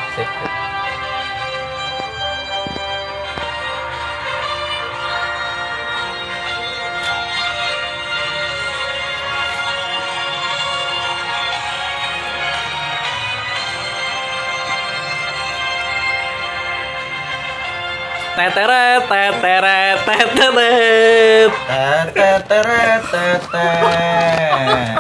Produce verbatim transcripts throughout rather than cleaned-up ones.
Sip. Teteret, teteret, teteret. Teteret, teteret.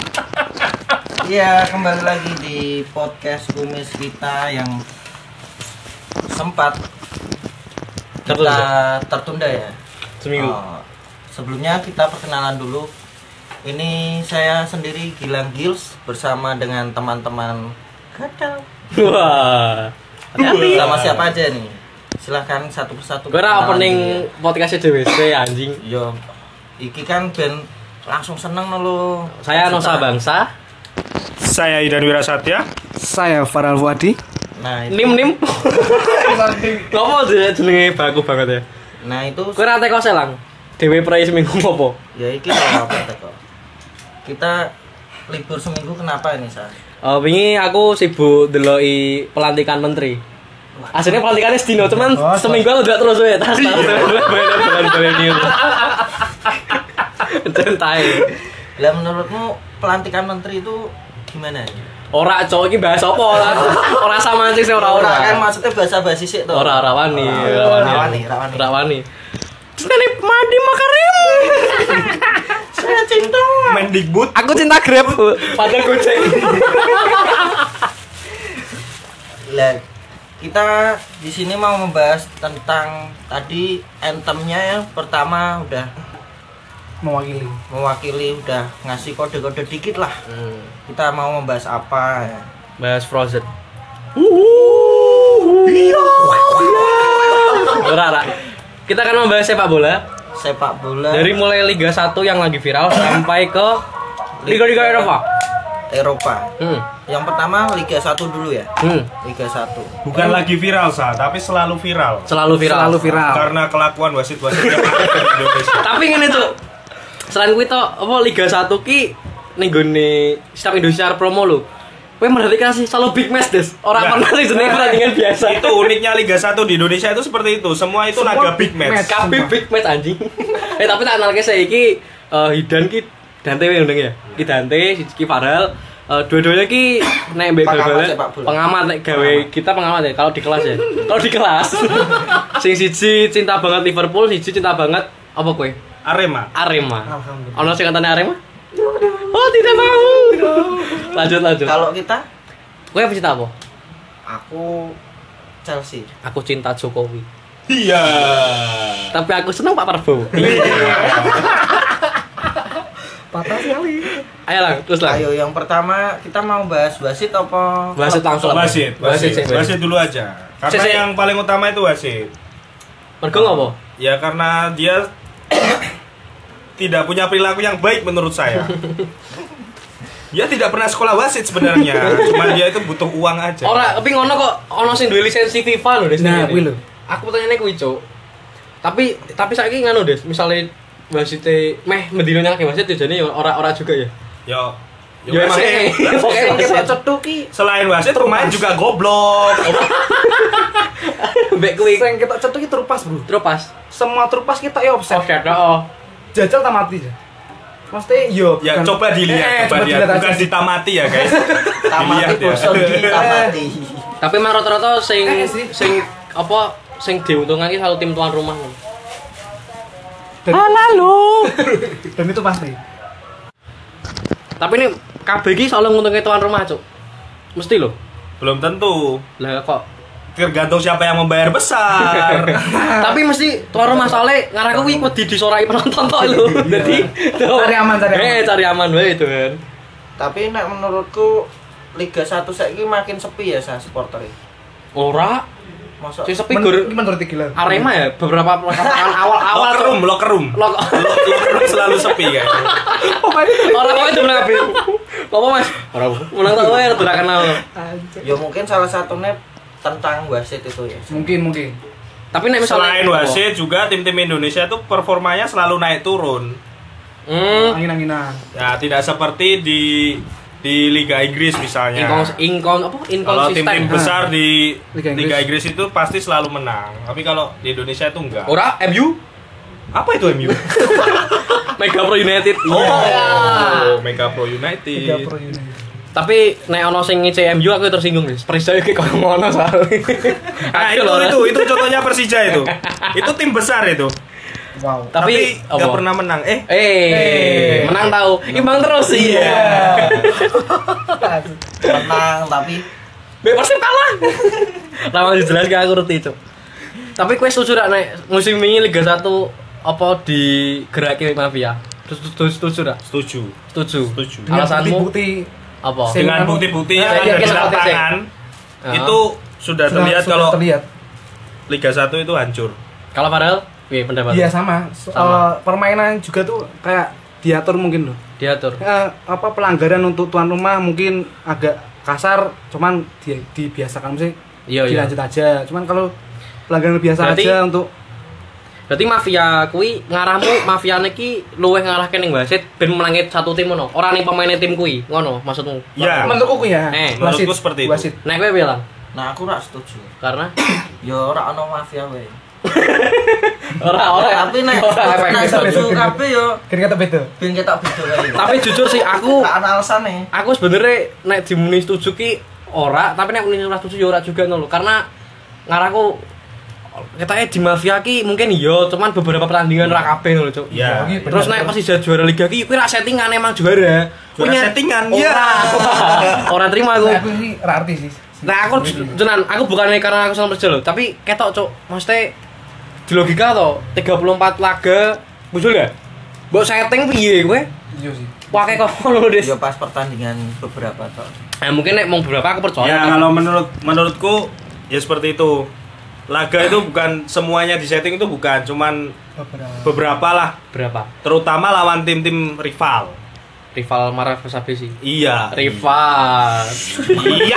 Iya, kembali lagi di podcast kumis kita yang sempat kita Tertunda. tertunda ya. Seminggu. Oh, sebelumnya kita perkenalan dulu. Ini saya sendiri Gilang Gils bersama dengan teman-teman Gadal. Wah. Hati-hati. Sama siapa aja nih? Silahkan satu persatu. Gue ora kenalan opening dulu podcastnya D W C anjing. ya. Yo, iki kan ben langsung seneng lo. Saya Nusa Bangsa. Saya Idan Wirasatya. Saya Farel Fuadi. Nah, itu, Nim nim. Ngopo jenenge baku banget ya. nah itu Kowe ra teko selang. Dewe prei seminggu ngopo? ya iki lho apa teko. Kita libur seminggu kenapa ini, Sa? Oh, wingi aku sibuk ndeloki pelantikan menteri. Aslinya pelantikannya sedino, cuman Oh, seminggu aku udah terus ya. Tas tas. Balen-balen itu. Centai. Lah menurutmu pelantikan menteri itu gimana ya? Ora cowok iki bahas apa? Ora ora sama sih ora ora. kan maksudnya bahasa basi sik to. Ora ora wani, Ora ora wani. wani, ora wani. Ora wani. Sekali Madi Makarim. Saya cinta. Mendikbud. Aku cinta Grab. Padahal Gojek. Lah kita di sini mau membahas tentang tadi anthemnya yang pertama udah Mewakili. mewakili, udah ngasih kode-kode dikit lah. Hmm. Kita mau membahas apa ya? Bahas Frozen. Ora ora. Kita akan membahas sepak bola Sepak bola dari mulai Liga satu yang lagi viral sampai ke Liga-liga Eropa. Eropa. Hmm. Yang pertama Liga satu dulu ya. Hmm. Liga satu. Bukan lagi viral, Sa, tapi selalu viral. Selalu viral. Selalu viral. Karena kelakuan wasit-wasit yang ada di Indonesia. Tapi ngene tuh. Selain kuwi to, apa Liga satu ki ning gone Setiap Indonesia promo lho. Kowe merhatikan sih selalu big match des. Ora Nah. pernah sih jenenge pertandingan biasa. Itu uniknya Liga satu di Indonesia itu seperti itu. Semua itu Semua naga big big match. match. Kabeh big match anjing. eh tapi tak analke saiki eh Hidan ki Dante yang ndeng ya. Ki Dante, siji ki Farel. Eh dua-duanya ki nek mbek Pengamat bal-balan sepak bola. pengamat nek gawe kita pengamat ya kalau di kelas ya. Kalau di kelas. Sing siji cinta banget Liverpool, siji cinta banget apa kowe? Arema. Arema. Alhamdulillah. Ono sing katanya Arema? Oh, tidak mau. Lanjut lanjut. Kalau kita Kowe apa cinta apa? aku Chelsea. Aku cinta Jokowi. Iya. Tapi aku senang Pak Prabowo. Patah sekali. Ayo lah, terus lah. Ayo yang pertama kita mau bahas wasit apa? Wasit langsung. Wasit, Wasit, wasit, sih, wasit dulu aja. Karena Sik, sik. yang paling utama itu wasit. Mergo ngopo? Ya karena dia tidak punya perilaku yang baik menurut saya. Dia tidak pernah sekolah wasit sebenarnya, cuma dia itu butuh uang aja. Ora, tapi ngono kok ono sing duwe lisensi FIFA lho, Des. Nah, kuwi lho. Aku pertanyaane kuwi, Cuk. Tapi tapi saiki nganu, Des. Misale wasite meh mendino nyalake wasit jane ya ora-ora juga ya. Yo, yo Ya emang wasit. eh. Oke, Sing wasit. kita cethu ki Selain wasit, pemain juga goblok. Mbek kuwi Sing kita cetuk iki terupas, Bro. terus pas. Semua terupas kita ya offset. Offset, oh. Jajal tak mati. Mesti yo. Ya bukan- coba Eh, dilihat, coba coba dilihat, dilihat bukan aja. ditamati ya guys. tamati Dilihat ya. bosan di tamati. Tapi emang rata-rata sing Eh, sih. sing apa sing diuntungkan ki selalu tim tuan rumah. Dan, Halo. dan itu pasti. Tapi ini K B iki selalu nguntungke tuan rumah, Cuk. Mesti lho. Belum tentu. Lah kok Tergantung siapa yang membayar besar. tapi mesti tuan rumah soalnya ngarah kuwi wedi disorai penonton tok lho. Jadi Cari aman, cari aman. Eh, cari aman wae itu kan. Tapi nek menurutku Liga satu saiki makin sepi ya sa supporter. Ora, Masa sing sepi Men- gur Ini menurut Gilang. Arema ya beberapa pertandingan awal-awal Locker room, locker room. Lok. Locker room selalu sepi kan. Orang kok itu menang apa Mas? Ora menang tok wae ora kenal. ya mungkin salah satunya tentang wasit itu ya. Mungkin mungkin. Tapi nek misalnya Selain wasit juga tim-tim Indonesia tuh performanya selalu naik turun. Hmm, Angin-anginan. Ya tidak seperti di di Liga Inggris misalnya. Inkons inkon apa Kalau inkonsisten. tim-tim besar di Liga Inggris. Liga Inggris itu pasti selalu menang. Tapi kalau di Indonesia itu enggak. Ora M U Apa itu M U? Mega Pro United. Oh, Iya. Mega Pro United. Tiga pro ini. Tapi nek ono sing ngece M U aku tersinggung guys. Persija iki kok ngono soalnya. Nah, itu itu itu contohnya Persija itu. Itu tim besar itu. Wow. Tapi Tapi nggak apa? pernah menang. Eh, Eh, menang tahu. Imbang terus sih. Iya. Menang tapi Be pasti kalah. Lama jelas gak aku ngerti, Cuk. Tapi kowe setuju rak nek musim ini Liga satu apa digerake mafia? Setuju setuju rak? setuju. Setuju. Setuju. Dengan Alasanmu bukti apa? Sing- Dengan anu- bukti-bukti yang Nah, ada iya, di iya, seperti lapangan Ah. itu sudah terlihat sudah kalau terlihat. Liga satu itu hancur. Kalau padahal, wih pendapat. Iya sama. So- Sama. eh, permainan juga tuh kayak diatur mungkin loh. Diatur. Eh, apa pelanggaran untuk tuan rumah mungkin agak kasar, cuman di, dibiasakan sih. Iya, iya. Dilanjut aja. Cuman kalau pelanggaran biasa Berarti- aja untuk Berarti mafia kuwi ngarahmu mafiane ki luwih ngarahke ning wasit ben menangi satu tim ngono. Ora ning pemaine tim kuwi, ngono maksudmu. Iya. menurutku ya. Eh, menurutku wasit, seperti itu. wasit. Nek kowe bilang nah aku rak setuju. karena Ya ora ono mafia wae. ora ora Tapi nek ora efek nek beda. setuju kabeh yo Kira kata beda. ben ketok beda kae. Tapi jujur sih aku Gak ana alasane. aku sebenarnya nek dimuni setuju ki ora, tapi nek muni ora setuju ya ora juga ngono. Karena ngaraku ketake di mafia ki mungkin iya, cuman beberapa pertandingan ora kabeh ngono, Cuk. Iya. Iya, Terus nek Persija juara liga ki kuwi ra settingan emang juara. Juara Punya- settingan, Ora. iya. Ora terima aku. Nah, aku sih ra arti sih. Nah aku jenan, aku bukannya karena aku sama Persija loh, tapi ketok Cuk, maksudnya di logika to, tiga puluh empat laga muncul gak? Mbok setting piye kowe? Iya sih. Pakai kok ngono, Des. Ya pas pertandingan beberapa tok. Nah, mungkin nek mau beberapa aku percaya. Ya tapi- kalau menurut menurutku ya seperti itu. Laga itu bukan semuanya di setting itu bukan, cuman Beberapa. beberapa lah, berapa? terutama lawan tim-tim rival. Rival Marah Versace sih. Iya. Rival. Iya.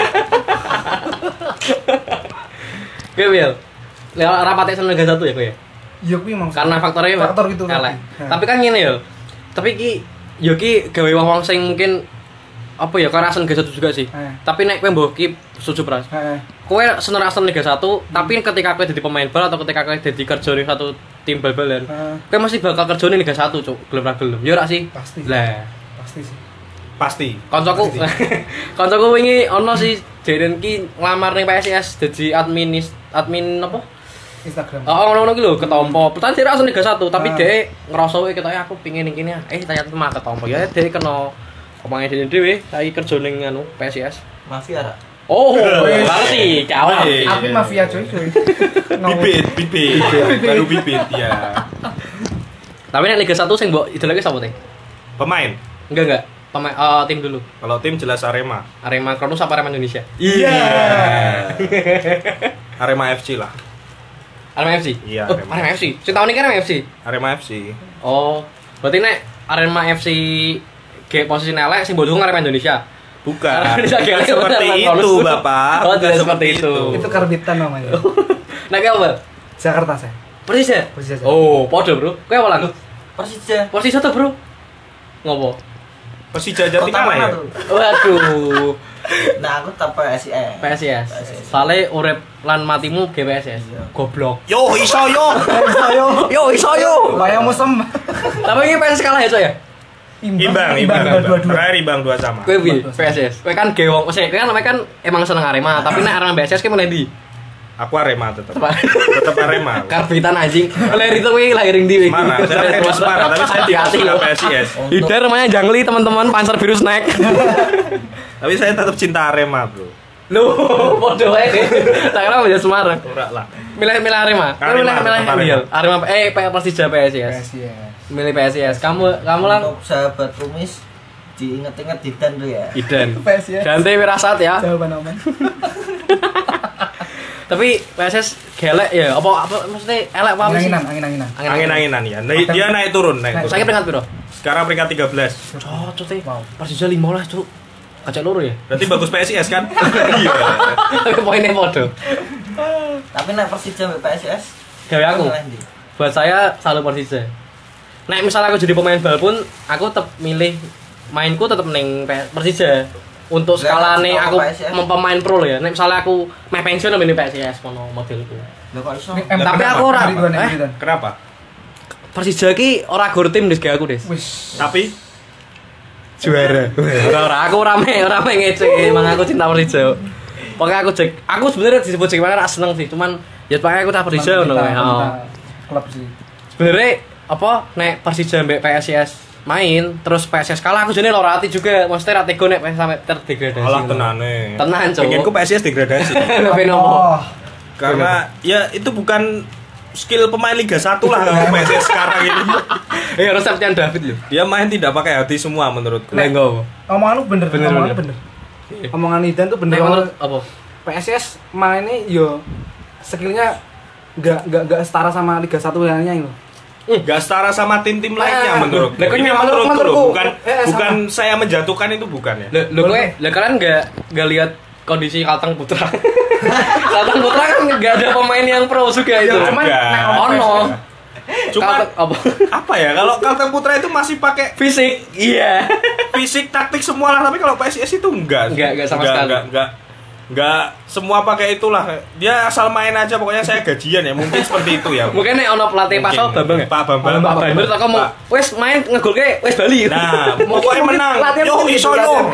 Oke, Wil. Lewat rapatnya sama Liga satu ya, kowe ya? Iya kuwi emang. Karena faktornya faktor itu elek. tadi. Tapi kan ngene ya. Tapi ki yo ki gawe wong-wong sing mungkin apa ya karena Liga satu juga sih. Eh. Tapi nek kowe mbok ki setuju pras. Heeh. Kowe seneng Liga satu, tapi ketika kowe jadi pemain bal atau ketika kowe jadi kerja ning satu tim bal-balan, Heeh. kowe masih bakal kerja ning Liga satu, Cuk. Gelem ra gelem. Ya ora sih? Pasti. Lah, Pasti sih. Pasti. kancaku kancaku wingi ono si Jaren ki nglamar ning P S I S dadi admin admin apa? Instagram. Oh, ngono-ngono ki lho ketompo. Pertanyaan dia langsung Liga satu, tapi Ah. dia ngerasa wae ketoke aku pingin ning kene. Eh, ternyata mah ketompo. Ya dia kena omongnya dhewe dhewe, saiki kerja ning anu P S I S. Mafia rak. Oh, ngerti, kawan. Wih. Aku mafia coy coy. Bibit, bibit. Baru bibit ya. Tapi nek Liga satu sing mbok idolake sapa teh? Pemain. Enggak enggak. Pemain eh, tim dulu. Kalau tim jelas Arema. Arema Kronus apa Arema Indonesia? Iya. Arema F C lah. Arema F C. Iya, Oh, Arema. Arema F C. Sing tahun ini kan Arema F C. Arema F C. Oh, berarti nek Arema F C ge posisi elek sing mbok dukung Arema Indonesia. Bukan. Arema Indonesia Bukan ge seperti Arema itu, Kronus. Bapak. Oh, Bukan tidak seperti itu. Itu karbitan namanya. Nek kowe apa? Jakarta saya. Persija. Persija. Oh, podo, Bro. Kowe apa lagu? Persija. Persija tuh, Bro. Ngopo? Persija Kota Jatinangor mana ya. tuh? Waduh. Nah, aku tetap P S I S. P S I S. Soale urip lan matimu G P S S. Goblok. Yo iso yo. Ayo. Yo iso yo. Wayang musem. Tapi ini P S S kalah ya, Cok ya? Imbang, imbang, dua dua imbang. dua. Terakhir imbang dua sama. Kowe piye? P S S. Kowe kan ge wong, kowe kan namanya kan emang seneng Arema, tapi nek Arema P S S kowe meneh ndi? Aku Arema tetap. Tetap Arema. Karbitan anjing. Lahir itu kowe lahiring ndi? Semarang, saya lahir di Semarang, tapi saya tidak Hati-hati suka loh. P S I S. Hidar namanya Jangli teman-teman, Panzer Biru Snack. Tapi saya tetap cinta Arema, Bro. Loh, podo wae. Tak kira menjadi Semarang. Ora lah. Milih-milih Arema. Kowe Arema, milih-milih tetap Arema. Arema. Arema eh P- Persija P S I S. Iya. Milih P S I S. Kamu kamu lang Untuk sahabat kumis diinget-inget Didan tuh ya. Idan. P S I S. Dante Wirasat ya. Jawaban aman. Tapi P S S gelek ya. Apa apa maksudnya elek apa sih? Angin-anginan, angin-anginan. Angin-anginan ya. Naik- Dia naik turun, naik turun. Saya peringkat piro? Sekarang peringkat tiga belas. Cocok teh. Wow. Persija lima belas, Cuk. Kacak loro ya. Berarti bagus P S I S kan? Iya. Tapi poinnya podo. Tapi nek Persija mbek P S I S Gawe aku. milih ndi? Buat saya selalu Persija. Nek misalnya aku jadi pemain bal pun, aku tetap milih mainku tetep ning P- Persija. Untuk Lah, skalane sama aku P S S. mem- pemain pro lho ya. Nek misalnya aku meh pensiun ning P S S ngono modelku. Lah kok iso? Nek- Lah, Tapi kenapa? aku ora Ridwan, eh, Ridwan. Kenapa? Persija ki ora gor tim Des kayak aku Des. Wis. Tapi Juara. Ora ora aku rame ora me ngece, emang aku cinta Persija. Pokoknya aku cek, aku sebenarnya disebut cek mana seneng sih, cuman ya pokoknya aku tak Persija ngono kae. Oh. Klub sih. Sebenarnya apa nek Persija mbek P S S main terus P S S kalah aku jane lara ati juga maksudnya ra tego nek sampai terdegradasi. alah tenane. Tenan, Cuk. Pengenku P S S degradasi. Tapi nopo? Oh, Karena ya itu bukan skill pemain Liga satu lah kalau P S S sekarang ini. Eh harus Septian David lho. Dia main tidak pakai hati semua menurutku. Nek ngopo? omongan lu bener, Bener, omongannya bener. bener. Omongan Idan tuh bener. Nek menurut apa? P S S mainnya yo skillnya nggak nggak nggak setara sama Liga satu lainnya itu. Gak setara sama tim-tim lainnya Eh, menurutku. lah, kan Ini memang menurutku menurutku. loh, bukan Eh, sama. bukan saya menjatuhkan itu bukan ya. Lho lho kowe, lah kalian enggak enggak lihat kondisi Kalteng Putra. Kalteng Putra kan enggak ada pemain yang pro juga itu. Ya, cuman ada. nek Ono. Cuma Kalteng apa? apa ya kalau Kalteng Putra itu masih pakai Fisik. Iya. fisik taktik semua lah, tapi kalau P S S itu enggak. Enggak, enggak sama sekali. Enggak, enggak, enggak semua pakai itulah. Dia asal main aja, pokoknya saya gajian ya. Mungkin seperti itu ya. Mungkin nek ono pelatih Mungkin. Paso Bambang ya? Pak Bambang. Pak Bambang tak mau Pak. wis main ngegolke wis Bali. Nah, pokoknya menang. latihan Yo mungkin iso gitu, yo. latihan.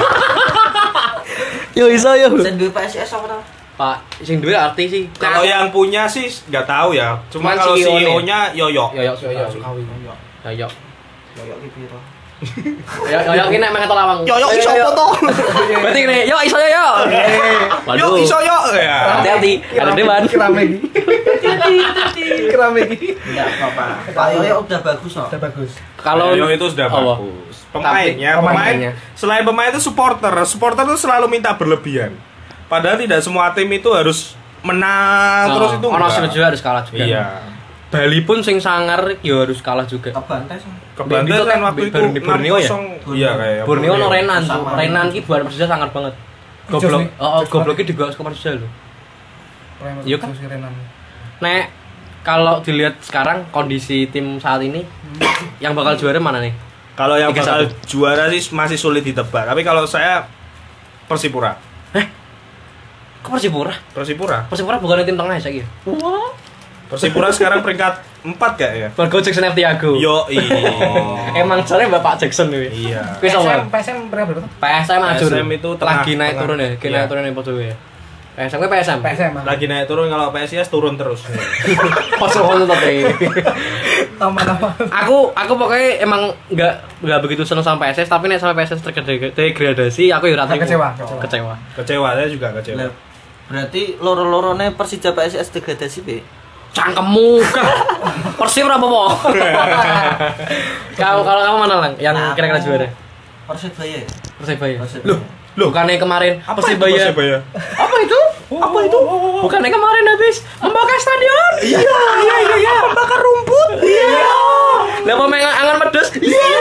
Yo iso yo. Sen duwe P S S apa to? Pak sing duwe arti sih. Kalau yang punya sih nggak tahu ya. Cuma Cuman kalau C E O-nya. C E O-nya Yoyo. yo yo Yo yo Sukawi. yo yo. Koyo ki piro? Yo yo yo ki nek mengat lawang. Yo yo iso apa to? Berarti ngene, yo iso yo yo. Yo iso yo ya. Hati-hati, ada dewan. Kerame iki. Kerame iki. Enggak apa-apa. Pak Yoyo udah bagus kok. Udah bagus. Kalau Yoyo itu sudah apa? bagus. Pemainnya, Tapi- pemain pemainnya. selain pemain itu supporter. Supporter itu selalu minta berlebihan. Padahal tidak semua tim itu harus menang terus itu. ono enggak. sing juga harus kalah juga. Iya. Bali pun sing sangar yo harus kalah juga. Kebantai sih. Kebantai Itu kan kan waktu itu baru di Borneo ya? enam kosong. Iya kayak. Borneo no Renan, tuh. Sama. Renan ki buat Persija sangar banget. Jos Goblok. nih. Oh, oh, Jos gobloknya juga ke Persija lho. Iya kan? Terus Renan. Nek kalau dilihat sekarang kondisi tim saat ini yang bakal juara mana nih? Kalau yang Tiga bakal satu. juara sih masih sulit ditebak. Tapi kalau saya Persipura. Kok Persipura? Persipura. Persipura bukan tim tengah ya saiki. Wah. Persipura sekarang peringkat empat gak ya? Margo Jackson F Tiago. Yo Emang soalnya Bapak Jackson nih. Iya. Kuwi P S M sama. P S M berapa berapa? P S M ajur. P S M itu tengah- lagi naik tengah. turun ya, lagi Iya. naik turun ya podo ya. P S M kuwi P S M. P S M. Lagi naik turun, kalau P S I S turun terus. Pas ngono tapi. Nama-nama. Aku aku pokoknya emang nggak nggak begitu seneng sama P S S, tapi nek sama P S S terdegradasi aku ya ora terima. Kecewa, kecewa. kecewa. Kecewa, saya juga kecewa. Lah, berarti loro-lorone Persija P S S degradasi be. Cangkemmu kan. Persib ora apa-apa. Kalau kalau kamu mana lang yang Nah, kira-kira aku juara? Persibaya. Persibaya. Persibaya. Loh, loh bukannya kemarin Apa itu Persibaya. Persibaya? Apa itu? Apa itu? Bukannya kemarin habis membakar stadion? Iya, iya, iya, iya. Membakar rumput? Iya. Lah pemain angan pedes? Iya.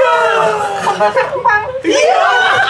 Iya.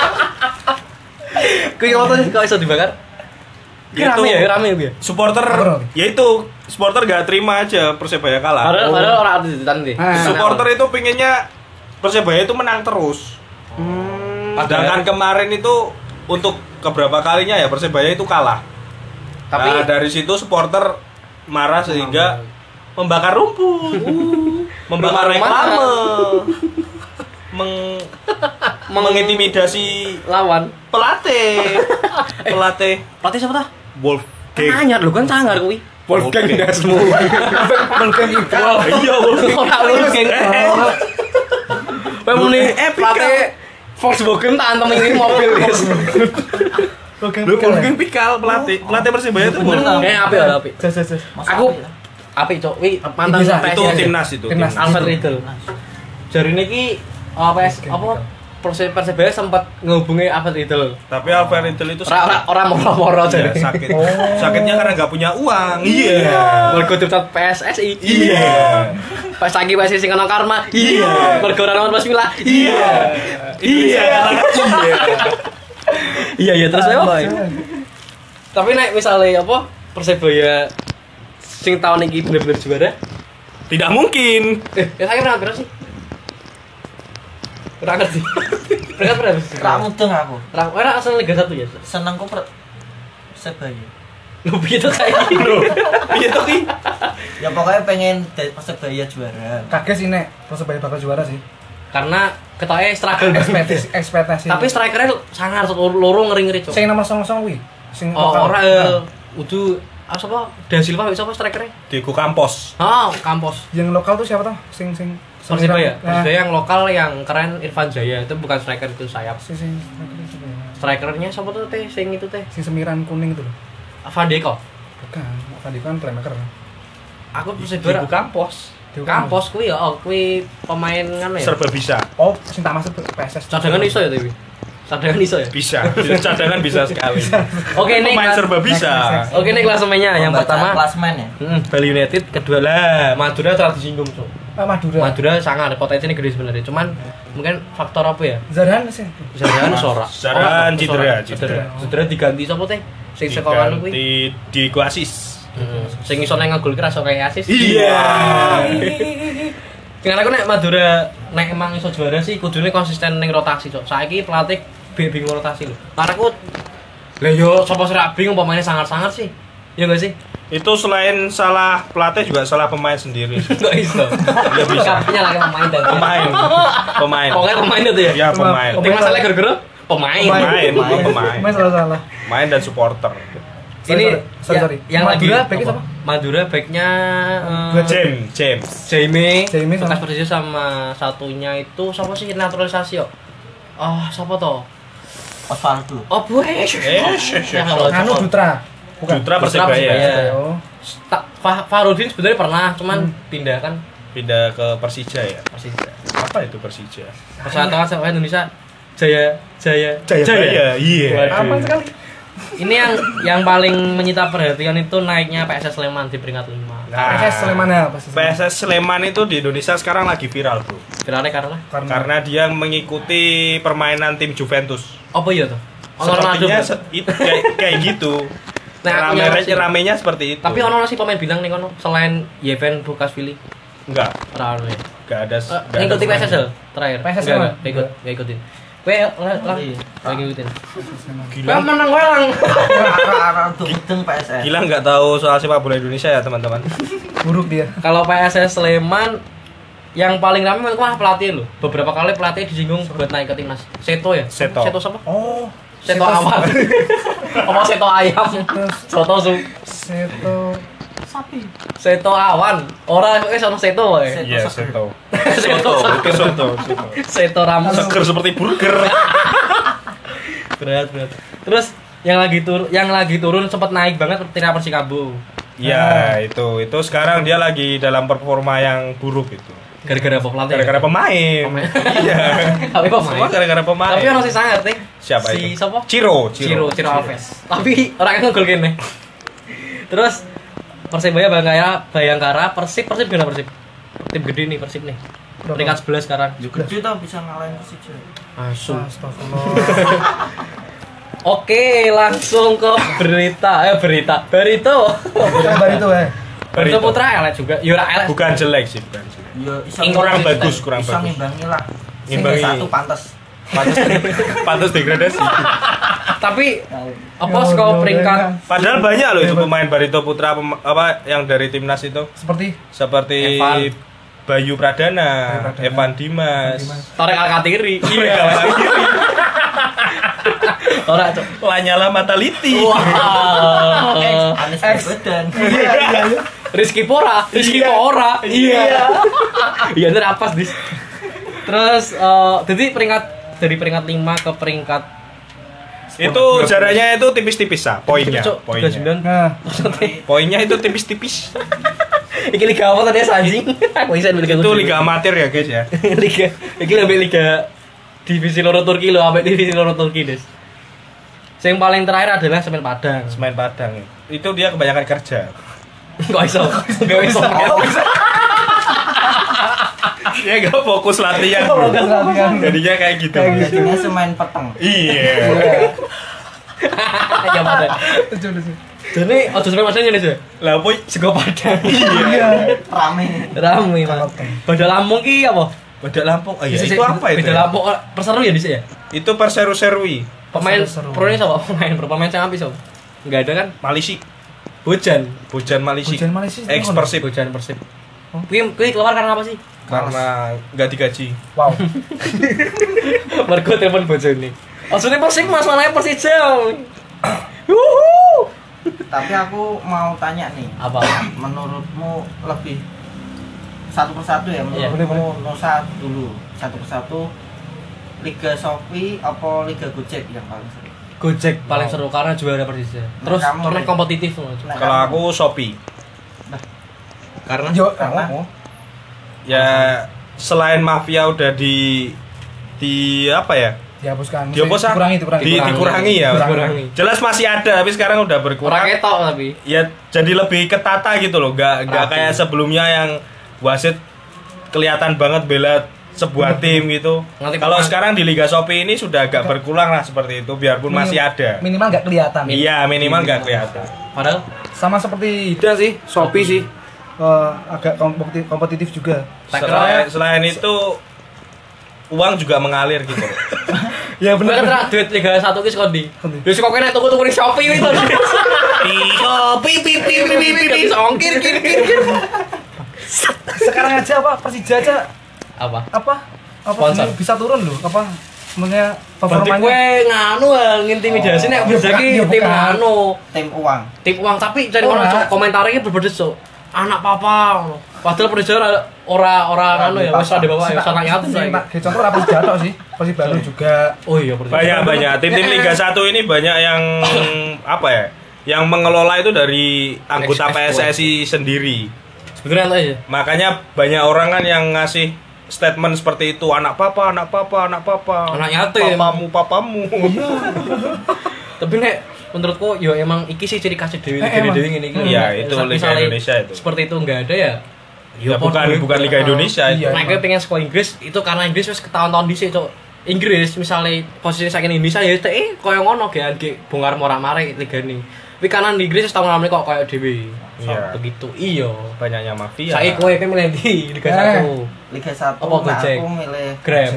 Kuwi ngono kok iso dibakar? Gitu. Rame ya, rame ya. Supporter, ya itu supporter gak terima aja Persebaya kalah. Padahal padahal orang artis ditan nih. Ah. Supporter itu pinginnya Persebaya itu menang terus. Sedangkan kemarin itu untuk keberapa kalinya ya Persebaya itu kalah. Tapi Nah, dari situ supporter marah sehingga membakar rumput, membakar Membakar reklame, meng, mengintimidasi lawan pelatih, pelatih pelatih siapa tah? Wolf Kan anyar lho kan sangar kuwi. Wolfgang Dasmu. Wolfgang Iqbal. Iya, Wolfgang. Ora Wolfgang. Kowe muni Eh, pelatih Volkswagen tak antem ini mobil guys. Wolfgang Lu Iqbal. Wolfgang Pikal pelatih, pelatih Persebaya itu Bener, Wolfgang. Kayak apik lah apik. Jas, jas, jas. Masa Aku apa ya? apik cok. Wi mantan Bisa, P S Itu I. timnas itu. Timnas. Alfred Riedel. Jari niki oh, P S apa proses Persebaya sempat ngehubungi Alfred Riedel. Tapi Alfred Riedel itu Ora ora sakit. ora moro-moro Iya, jadi. sakit. Oh. Sakitnya karena nggak punya uang. Iya. Mergo daftar P S S I. Iya. Pas lagi P S S I kena karma. Iya. Mergo ora nomor Bismillah. Iya. Iya. Iya. Iya iya terus apa? Tapi nek misalnya apa Persebaya sing tahun ini bener-bener juara, Tidak mungkin. eh ya saya pernah berapa sih? Pernah ngerti. Peringkat berapa? Rak mudeng aku. Rak ora asal Liga satu ya. Senengku per Persebaya. Lu piye to kayak gitu. Piye to ki? Ya pokoknya pengen dari Persebaya juara. Kaget sih nek Persebaya bakal juara sih. Karena ketoknya struggle Ekspektasi ekspektasi. tapi strikernya sangar loro ngeri-ngeri cok. sing nomor song-song kuwi. Sing Oh, lokal. ora Nah, eh, udu ah sapa? Da Silva sapa strikernya? Diego Campos. Oh, Campos. yang lokal tuh siapa tuh? Sing sing Persibaya. Nah, Persibaya yang lokal yang keren Irfan Jaya itu bukan striker itu sayap. sing sing strikernya siapa ya? Strikernya siapa tuh teh? Sing itu teh. Sing semiran kuning itu loh. Van Deko. Bukan, tadi kan playmaker. Aku Persibaya. Diego Campos. Campos kuwi ya, oh kuwi pemain ngono ya. Serba bisa. Oh, sing tak masuk P S S. Cadangan iso ya Dewi. Cadangan iso ya. Bisa. Cadangan bisa sekali. Oke nih. Pemain kelas- serba bisa. Oke nih klasemennya yang Pembaca pertama. klasmen ya. Mm, Bali United, kedua lah Madura telah disinggung cok. Ah, Madura. Madura sangat potensinya gede sebenarnya, cuman mungkin faktor apa ya? Zarhan sih. Zarahan sora. Zarahan cedera, cedera. Cedera diganti sapa teh? Sing sekolah kuwi. Diganti Diego Asis. Heeh. Sing iso nang ngegol ki rasa kayak asis. Iya. Dengan aku nek Madura nek emang iso juara sih kudune konsisten ning rotasi cok. Saiki pelatih bi- bingung rotasi lho. Karena aku lah yo sapa sih ra bingung pemainnya sangat-sangat sih. Ya enggak sih? Itu selain salah pelatih juga salah pemain sendiri. Enggak iso. Nggak bisa. Kapnya lagi pemain dan Pemain. Pemain. Pokoknya pemain itu ya. Ya pemain. Tim masalah gara-gara pemain. Pemain, bukan pemain. Pemain salah-salah. Main dan supporter. Sorry, Ini sorry, sorry, ya- sorry. yang Madura lagi backnya apa? siapa? Madura backnya eh, James, James. Jamie, Jamie bekas sama- Persija sama satunya itu siapa sih naturalisasi yo? Ah, siapa toh? Osvaldo. Oh, Bu. Eh, shh, shh, shh. Anu Dutra. Bukan. Dutra Persibaya. Persibaya. Oh. Tak Fa- Farudin sebenarnya pernah, cuman pindah kan Pindah ke Persija ya. Persija. Apa itu Persija? Persatuan Sepak Indonesia Jaya Jaya Jaya. Iya. Waduh. Aman sekali. Ini yang yang paling menyita perhatian itu naiknya P S S Sleman di peringkat lima. Nah, P S S Sleman apa sih? P S S Sleman itu di Indonesia sekarang lagi viral, Bro. Viralnya karena Karena dia mengikuti permainan tim Juventus. apa ya tuh? Ono Ronaldo. Sepertinya berarti? se- itu kayak, kayak gitu. Nah, aku Rame nyawa sih. ramenya seperti itu. Tapi ono sih pemain bilang nih kono selain Yeven Bukashvili. enggak, Ora ono ya. enggak ada. Eh, enggak ada ngikutin P S S pemain. L terakhir. P S S Enggak, Sleman? enggak, enggak ikut, enggak ikutin. Kowe lah lah Iya. enggak ngikutin. Gila. Kowe menang kowe lang. Akar-akar mudeng P S S. Gila nggak tahu soal sepak bola Indonesia ya, teman-teman. Buruk dia. Kalau P S S Sleman yang paling ramai menurutku mah pelatih loh. Beberapa kali pelatih disinggung buat naik ke timnas. Seto ya? Seto. Seto siapa? Oh. Seto awal. Apa Seto ayam? Soto su. Seto. Seto awan. Ora eh sono Seto wae. Seto. Iya, seger. Seto. Seto Itu Seto. Seto. Seto ramus. Seger seperti burger. Berat berat. Terus yang lagi tur yang lagi turun sempat naik banget Tira Persikabo. Ya, itu. Itu sekarang dia lagi dalam performa yang buruk itu. Gara-gara apa pelatih? Gara-gara pemain. Pemain. Iya. Tapi Semua pemain. gara-gara pemain. Tapi orang sih sangat nih. Siapa si itu? siapa? Ciro, Ciro, Ciro Alves. Tapi orangnya ngegol kene. Terus Persibaya Bayangkara, Bayangkara, Persib, Persib gimana Persib? Tim gede nih Persib nih. Berapa? Peringkat sebelas sekarang. Juga dia tuh bisa ngalahin Persija. Asu. Astagfirullah. Oke, langsung ke berita. Eh berita. Barito. Kabar itu eh. Barito Putra elek juga. Ya ora elek. Bukan jelek sih, bukan jelek. Ya iso Ing- Kurang konsisten. bagus, kurang bisa bagus. ngimbangi lah. Ngimbangi. Satu pantas. Pantas, pantas degradasi. Tapi apa Ya, skor udah, peringkat udah. Padahal banyak loh itu Hebat. pemain Barito Putra pem- apa yang dari timnas itu. Seperti Seperti Evan. Bayu Pradana, Bayu Pradana. Evan Dimas. Dimas. Torek Alkatiri? Iya. Ora, Cok. Lanyala Mataliti. Wah. Anies Baswedan. iya iya iya. Rizky Pora, Rizky Iya. Pora. Iya. Iya, itu apa dis? Terus eh jadi peringkat dari peringkat lima ke peringkat Itu jaraknya itu tipis-tipis ah, poinnya. Cok, Poinnya. tiga puluh sembilan. Nah, Maksudnya Poinnya itu tipis-tipis. iki liga apa tadi anjing? Aku bisa liga Itu liga amatir ya, guys ya. liga. Iki lebih liga divisi loro Turki lo, sampai divisi loro Turki, Des. Yang paling terakhir adalah Semen Padang. Semen Padang. Itu dia kebanyakan kerja. Kok iso? Gak iso. Dia enggak fokus latihan. Bro. fokus latihan. Jadinya kayak gitu. Kayak gitu. Jadinya semain peteng. Iya. Ya Padang. lucu lucu. Jadi ojo sampai masanya nih, Lah apa sego Padang. Iya. Rame. Rame, Mas. Badal Lampung ki apa? Badak Lampung. Oh iya, Bisa- itu apa itu? Badal ya? Lampung oh, perseru ya di sini ya? Itu Perseru-Serui. Pemain Seru-seru. pro ini siapa? Pemain pro pemain yang habis, Sob. Enggak ada kan? Malisi. Hujan. Hujan Malisi. Hujan Malaysia. Ex Persib. Hujan Persib. Kuwi kuwi keluar karena apa sih? Karena nggak digaji. Wow. Mergo telepon bojone. Maksudnya Persib Mas, mananya Persija. Wuhu. Tapi aku mau tanya nih, Apa? menurutmu lebih satu persatu ya, Iya. menurutmu Nusa dulu satu persatu, Liga Shopee apa Liga Gojek yang paling seru? Gojek paling seru karena juara Persija. Terus kamu turnamen nih. kompetitif loh. Nah, Kalau kamu- aku Shopee. Karena Yo, Karena- oh, oh. Ya selain mafia udah di di apa ya? Dihapuskan. Dihapuskan. Dikurangi, dikurangi. Di, dikurangi ya. Dikurangi. Jelas masih ada tapi sekarang udah Ora berkurang. ketok tapi. Ya jadi lebih ketata gitu loh. Gak gak Rapi. kayak sebelumnya yang wasit kelihatan banget bela sebuah tim gitu. Nanti Kalau pernah- sekarang di Liga Shopee ini sudah agak berkurang lah seperti itu biarpun Minim- masih ada. Minimal nggak kelihatan. Iya, minimal nggak kelihatan. Padahal Sama seperti Ida sih, Shopee sih. Eh, agak kompeti- kompetitif juga. tak Selain, kira selain itu uang juga mengalir gitu. Ya bener kan duit tiga puluh satu ki skondi. Skondi. Wis kok kene tuku-tuku ning Shopee itu. Shopee pi pi pi pi pi pi ongkir kir kir kir. Sekarang aja apa Persija aja Apa? apa apa Sponsor. ini bisa turun loh apa sebenarnya Berarti performanya gue nganu hal ngintimidasi nek Ya, Persija bukan, ki ya, tim bukan. anu, tim uang. tim uang tapi cari Ora. orang komentarnya berbeda so. Anak papa. Padahal Persija ora ora anu ya wis ada bapak ya sana nyata Sing saya. tak kayak contoh apa jatuh sih Persib Bandung juga Oh iya Persija. Banyak banyak tim-tim Liga satu ini banyak yang apa ya? Yang mengelola itu dari anggota P S S I sendiri. Sebenarnya aja. Makanya banyak orang kan yang ngasih statement seperti itu, anak papa, anak papa, anak papa. Anak yatim. Papamu, papamu. Tapi nek menurutku yo emang iki sih ciri khas dewi Eh, dewi emang. dewi ini. Iya, itu Liga Indonesia itu. Seperti itu enggak ada ya. Ya bukan bukan Liga Indonesia itu. Iya. Nah, gue pengen sekolah Inggris itu karena Inggris wis ketahun-tahun dhisik, Cuk. Inggris misalnya posisi saking Indonesia ya eh koyo ngono ge ge bongkar morak-marik ligane. Tapi kanan di Inggris setahun lalu kok koyo dhewe. Iya. Begitu. Iya. Banyaknya mafia. Saiki kowe pengen milih di Liga Eh. satu. Liga satu, Apa nah Gojek? aku milih Grab.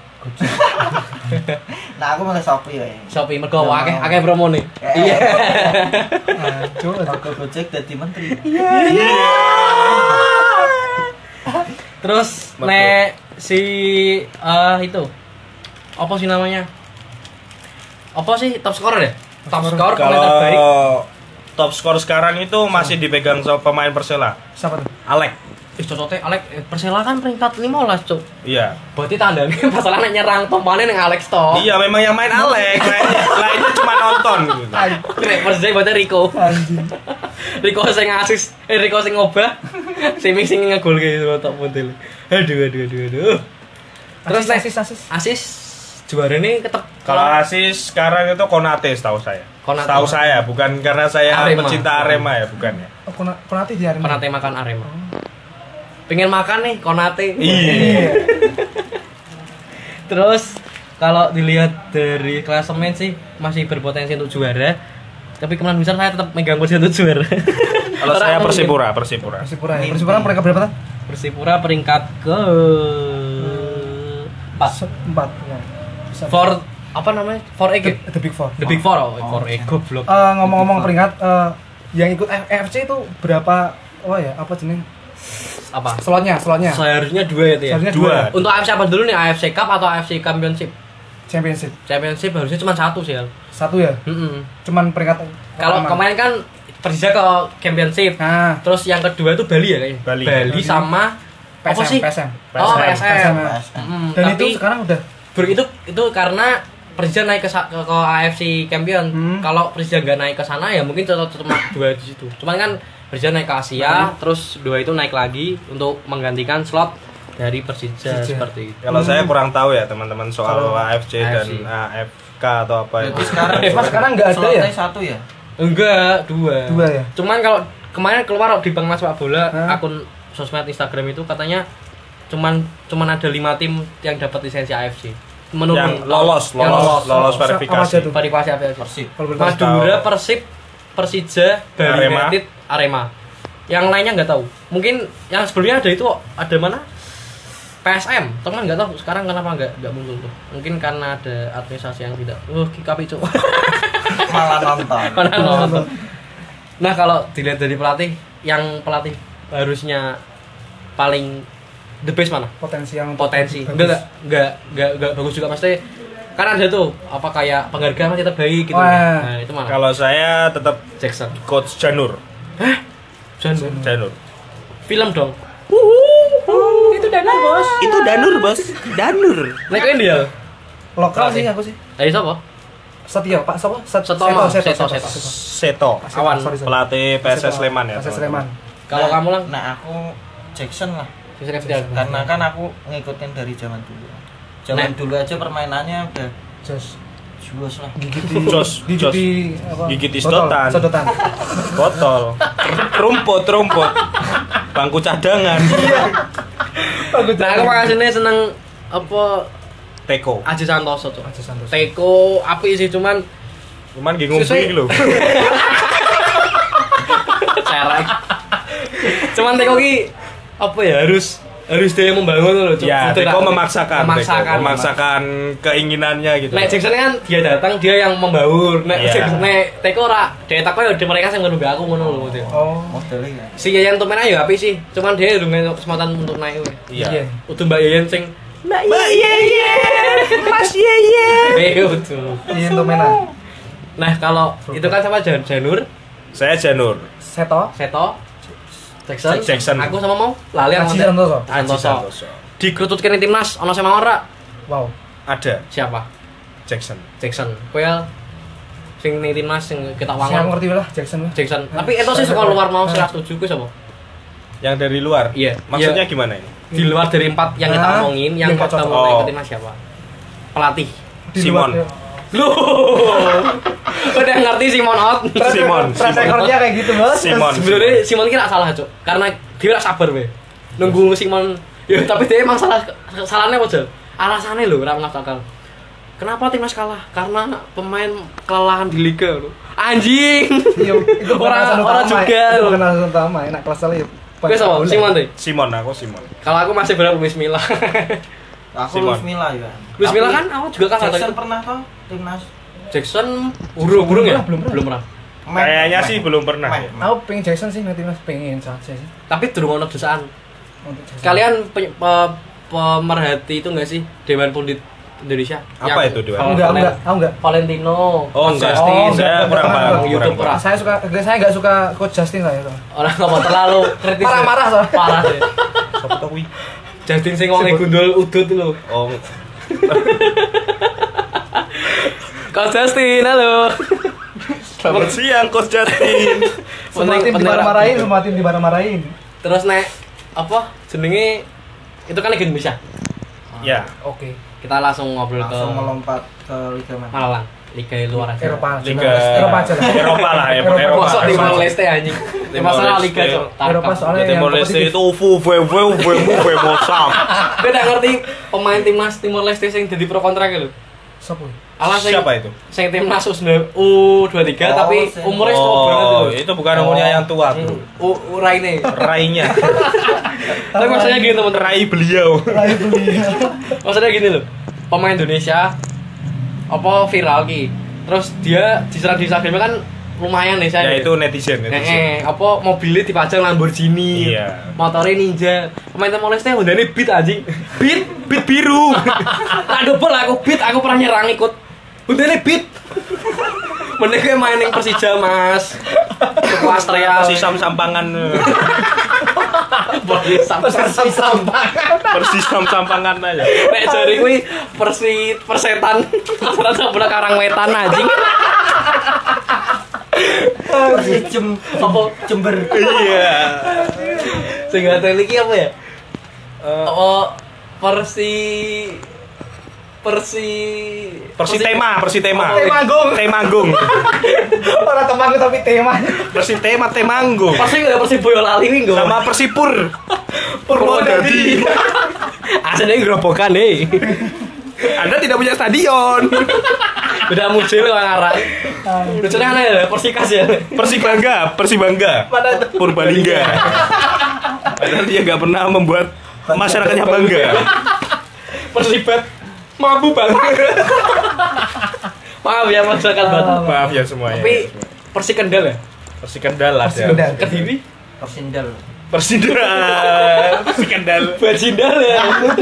nah aku milih Shopee ya. Shopee mergo Nah, akeh akeh promone. Eh. Iya. Aduh, Mergo Gojek dadi menteri. Terus Mergo. nek si eh itu apa sih namanya? Apa sih top scorer ya? Top scorer pemain terbaik. Kalau top skor sekarang itu masih dipegang sama pemain Persela, siapa tuh Alek. Ih cocoknya Alex eh, Persela kan peringkat lima belas, Cuk. Iya. Berarti tandanya masalah nek nyerang tompane ning Alex to. Iya, memang yang main Alek, lainnya, lainnya cuma nonton gitu. Nek Persija berarti Rico. anjing Rico sing asis, eh Rico sing ngobah. Sing sing ngegolke top model. Aduh aduh aduh aduh. Terus nek asis asis asis juara ini ketep Kalau asis sekarang itu Konate setahu saya. Konate. Setahu saya, bukan karena saya Arema. pecinta Arema ya, bukan ya. oh Kona- Konate di hari ini Konate makan Arema. Pengen makan nih Konate. Iya. Terus kalau dilihat dari klasemen sih masih berpotensi untuk juara. Tapi kemungkinan besar saya tetap megang posisi untuk juara. Kalau saya Persipura, Persipura. Persipura ya Persipura mereka berapa tuh Persipura peringkat ke empat. empat ya bisa For apa namanya? For the, E. the big four The Big Four. Oh, For E goblok. Eh, ngomong-ngomong peringkat eh, yang ikut A F C itu berapa oh ya apa jenis Apa? slotnya slotnya Seharusnya dua ya, Ti, ya. seharusnya Dua. dua Untuk A F C apa dulu nih? A F C Cup atau A F C Championship? championship Championship harusnya cuma satu sih, Al. satu ya Mm-mm. cuman peringkat Kalau pertama. kemarin kan Persija ke Championship. nah Terus yang kedua itu Bali ya kayaknya. Bali. Bali sama P S M apa sih? P S M Oh, P S M. P S M. P S M. Mm, dan tapi itu sekarang udah ber- itu itu karena Persija naik ke, sa- ke, ke A F C Champion. Hmm. Kalau Persija nggak naik ke sana ya mungkin tetap cuma dua di situ. Cuman kan Persija naik ke Asia, terus dua itu naik lagi untuk menggantikan slot dari Persija Persija. seperti itu. Kalau saya kurang tahu ya teman-teman soal Kalau A F C dan A F C. A F K atau apa Jadi itu. sekarang Mas, sekarang nggak ada ya? slotnya satu ya? Enggak, dua. Dua ya? Cuman kalau kemarin keluar di Bang Mas Sepak Bola Hah? akun sosmed Instagram itu katanya cuman cuman ada lima tim yang dapat lisensi A F C. Menurut Yang lolos, yang lolos, lolos Apa verifikasi. aja tuh? verifikasi A F C. Persib. kalau boleh tahu. Madura, Persib, Persija, Bali Arema. United, Arema. Yang lainnya nggak tahu. Mungkin yang sebelumnya ada itu ada mana? P S M, teman nggak tahu sekarang kenapa nggak nggak muncul tuh. Mungkin karena ada administrasi yang tidak. Uh, kikapi cuk. Malah nonton. Malah nonton. Nah kalau dilihat dari pelatih, yang pelatih harusnya paling the best mana? Potensi yang Potensi. bagus. Enggak enggak enggak enggak bagus juga pasti. Kan ada tuh apa kayak penghargaan masih terbaik gitu. Oh, iya. Nah itu mana? Kalau saya tetap Jackson. Coach Janur. Janur. Janur. Film dong. Itu Danur, Bos. Itu Danur, Bos. Danur. Nek kowe dia. Lokal Pelatih. sih aku sih. Ayo sapa? Setia, Pak, sapa? Set- Seto, Mas. Seto, Seto, Seto, Seto. Seto. Awan. Sorry, sorry. Pelatih P S S Seto. Sleman ya. P S S teman-teman. Sleman. Kalau kamu lang? Nah, aku Jackson lah. Jackson F T L. Karena kan aku ngikutin dari zaman dulu. Zaman Nah. dulu aja permainannya udah Jos. juos lah. Gigit di Jos, gigit jos. di apa? Gigit di Botol, sedotan. Sedotan. Botol. Rumput, rumput. Bangku cadangan. Nah, aku makasihnya seneng apa Teko. Aji Santoso tuh. Aja Santos. Teko api sih cuman Cuman nggih ngombe Sesuai- iki lho. cerek. Cuman Teko ki apa ya harus harus dia yang membangun loh. Cuk. Ya, Itu Teko lah. memaksakan, memaksakan, Teko memaksakan keinginannya gitu. Nek Jackson kan dia datang dia yang membaur. Nek Iya. Jackson- Nek Teko ora dia tak ya di mereka sing ngono aku ngono lho gitu. Oh. Modelnya ya. Si Yayan tuh ya api sih. Cuman dia udah ngentuk kesempatan untuk naik we. Iya. Udah Mbak Yayan sing Mbak Yeye, Mas Yeye. eh utuh. Iya, untuk mainan. Nah, kalau itu kan sama Jan Janur, Saya Janur. Seto. Seto, Jackson, Jackson. aku sama mau lali Aji yang Santoso. Aji Santoso. Santoso. Dikerututkan di timnas, ono sama ora? Wow. Ada Siapa? Jackson. Jackson. Kowe sing ning timnas sing kita Saya wangon. ngerti lah Jackson. lah. Jackson. Tapi itu sih sekolah luar mau saya setuju kuwi sapa? Yang dari luar. Iya. Maksudnya Iya. gimana ini? Di luar dari empat yang kita Ah, omongin, yang yang kita cocok. mau naik Oh. ke timnas siapa? Pelatih. Di Simon. luar- Loh. Udah ngerti Simon out. Simon. Track Simon. recordnya kayak gitu, Bos. Simon. Sebenarnya Simon kira salah, Cuk. Karena dia ora sabar we. Nunggu Simon. Ya tapi dia emang salah salahnya apa, Jal? Alasannya lho ora masuk akal. Kenapa timnas kalah? Karena pemain kelelahan di liga lho. Anjing. Iya, itu bukan Orang- alasan orang utama, juga, Itu loh. bukan alasan utama, enak kelas ya. Oke, sama Simon deh. Simon, aku Simon. Kalau aku masih berharap Luis Milla. Aku Simon. Luis Milla ya. Luis Milla Tapi kan aku juga kalah Jackson tadi. pernah toh timnas. Jackson burung burung ya? Belum pernah. Belum pernah. Main- Kayaknya main. sih belum pernah. Main. ya. Aku pengen Jackson sih nanti Mas, pengen saja sih. Tapi durung ono desaan. Untuk Jackson. Kalian pe- pe- pemerhati itu enggak sih Dewan Pundit Indonesia? Apa Yang itu Dewan? Val- Enggak, Valen- enggak, aku enggak. Valentino. Oh, Coach enggak. Justin. Oh, saya enggak, kurang enggak, paham. enggak. kurang YouTube paham. ora. Saya suka saya enggak suka Coach Justin saya. Bang. Orang ngomong terlalu kritis. Marah-marah soalnya. Parah sih. Siapa tahu kuwi? Justin sing wong gundul udut lho. Oh, Coach Justin, halo. selamat siang Coach Justin. Semua Penting- tim penting dimarah-marahin, ora. semua tim dimarah-marahin. Terus nek apa jenenge itu kan Liga Indonesia. Ya, Oke. Kita langsung ngobrol Langsung ke melompat ke liga mana? Malang, Liga luar aja. Eropa. Liga Eropa aja lah. Eropa lah, ya, Eropa. Eropa. Masuk Timor Eropa. Leste anjing. Timor Masalah Leste. Liga Cok. Eropa soalnya yang Timor Leste kompetitif. itu ufu ve ve ve ve mosam. Gue udah ngerti pemain timnas Timor Leste yang jadi pro kontrak lho. Sopo? Alah sing Siapa itu? sing timnas U dua puluh tiga Oh, tapi sing- umurnya tua banget Oh, lho. itu bukan umurnya yang tua, Bro. U Uraine. Rainya. Tapi maksudnya gini teman-teman. Rai beliau. Rai beli. Maksudnya gini loh. Pemain Indonesia apa viral ki. Terus dia diserang di Instagram kan lumayan nih saya. Ya itu netizen, Eh, netizen. eh, apa mobilnya dipajang Lamborghini, Iya. motornya Ninja, pemain Timor Leste Hondanya Beat anjing, Beat, Beat biru, tak double aku Beat, aku pernah nyerang ikut, Hondanya Beat, mending kayak main yang Persija mas, Suku Astrea, Persisam Sampangan. body sampai Persisam Sampangan aja. nek jari kuwi persi persetan, ternyata bola Karangwetan anjing, Jem apa Jember. Iya. sehingga iki apa ya? Eh, Oh, Persi Persi Persi tema, Persi tema. Temanggung. Temanggung. Orang temanggung tapi tema. Persi tema Temanggung. Persi nggak Persi Boyolali nih gue. Sama Persipur. Purwodadi. Aslinya gerobokan nih. Anda tidak punya stadion. Beda muncul orang arah. Lucunya aneh ya, Persikas ya. Persi Bangga, Persi Bangga. Mana itu? Purbalingga. Padahal dia nggak pernah membuat masyarakatnya bangga. Persibat mampu banget. Maaf ya masyarakat Batu. Maaf ya semuanya. Tapi Persi Kendal ya? Persi Kendal lah ya. Kendal. Kediri? Persindal. Persindal. Persi Kendal. Bajindal ya?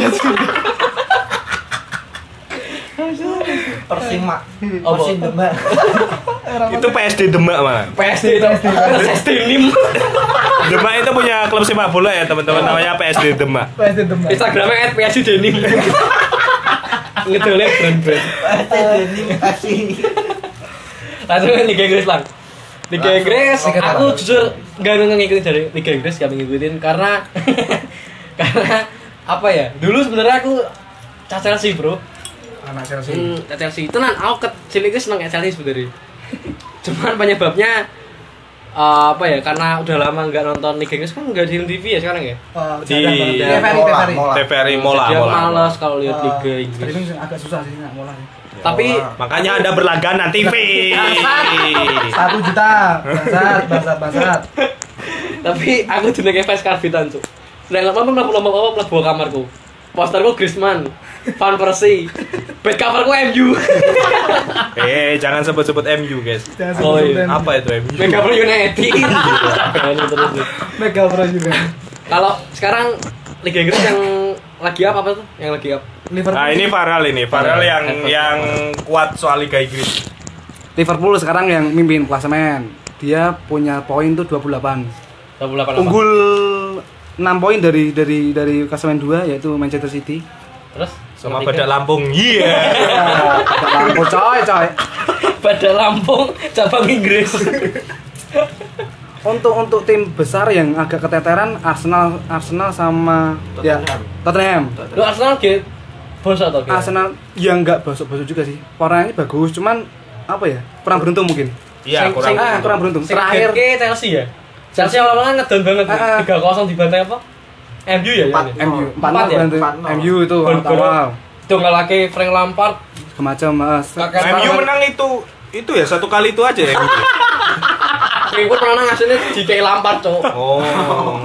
Persima. Oh, Persindema. Itu P S D Demak mah. P S D itu. P S D Nim. Demak itu punya klub sepak bola ya teman-teman, namanya P S D Demak. P S D Demak. Instagramnya at P S D Denim. Ngedolek brand-brand. Ini kasih. Langsung ke Liga Inggris lang. Liga Langsung. Inggris, Liga aku apa? jujur nggak ngikutin dari Liga Inggris, nggak ngikutin karena karena apa ya? Dulu sebenarnya aku Chelsea bro. Anak Chelsea. Hmm, Chelsea itu nan aku kecil itu seneng Chelsea sebenarnya. Cuman penyebabnya uh, apa ya? Karena udah lama nggak nonton Liga Inggris kan nggak di T V ya sekarang ya. Oh, Di- jarang banget. di- T V R I, T V R I. Mola. T V R I Mola, Jadi aku Mola. males kalau lihat Oh, Liga Inggris. streaming agak susah sih nggak mulai. Tapi Makanya Anda berlangganan T V. Satu juta, bangsat, bangsat, bangsat. tapi aku jenenge fans karbitan cuk. Sedang apa mlebu-mlebu apa mlebu kamarku. Posterku Griezmann, Van Persie. Back coverku M U. Eh, jangan sebut-sebut M U, guys. Jangan Oh, sebut iya. sebut Apa itu M U? Back cover United. Ini terus nih. Mega Pro juga. Kalau sekarang Liga Inggris yang lagi apa apa tuh? Yang lagi apa? Liverpool. Nah, ini Farel ini, Farel yang yang kuat soal Liga Inggris. Liverpool sekarang yang mimpin klasemen. Dia punya poin tuh dua puluh delapan. dua puluh delapan. Unggul enam poin dari dari dari klasemen dua yaitu Manchester City. Terus Sama yang Badak tiga? Lampung. Iya. Tidak lampu coy coy. Badak Lampung cabang Inggris. Untuk untuk tim besar yang agak keteteran Arsenal Arsenal sama ya Tottenham. Tottenham. Lu Arsenal ge bos atau ge? Arsenal yang nggak bosok-bosok juga sih. Orangnya bagus, cuman apa ya? Kurang beruntung mungkin. Iya, Sing- kurang. sing- Ah, kurang beruntung. Sing Terakhir ke Chelsea ya. Chelsea awal-awal kan ngedon banget. Ah, ah. tiga kosong dibantai apa? M U ya Empat. ya. M U Empat empat ya? beruntung. Empat nol. M U itu Gol- gol- awal Itu ngalake Frank Lampard. semacam mas. Kakak- M U menang itu itu ya satu kali itu aja ya. M U. Ribut menang hasilnya di kayak Lampard, Cok. Oh.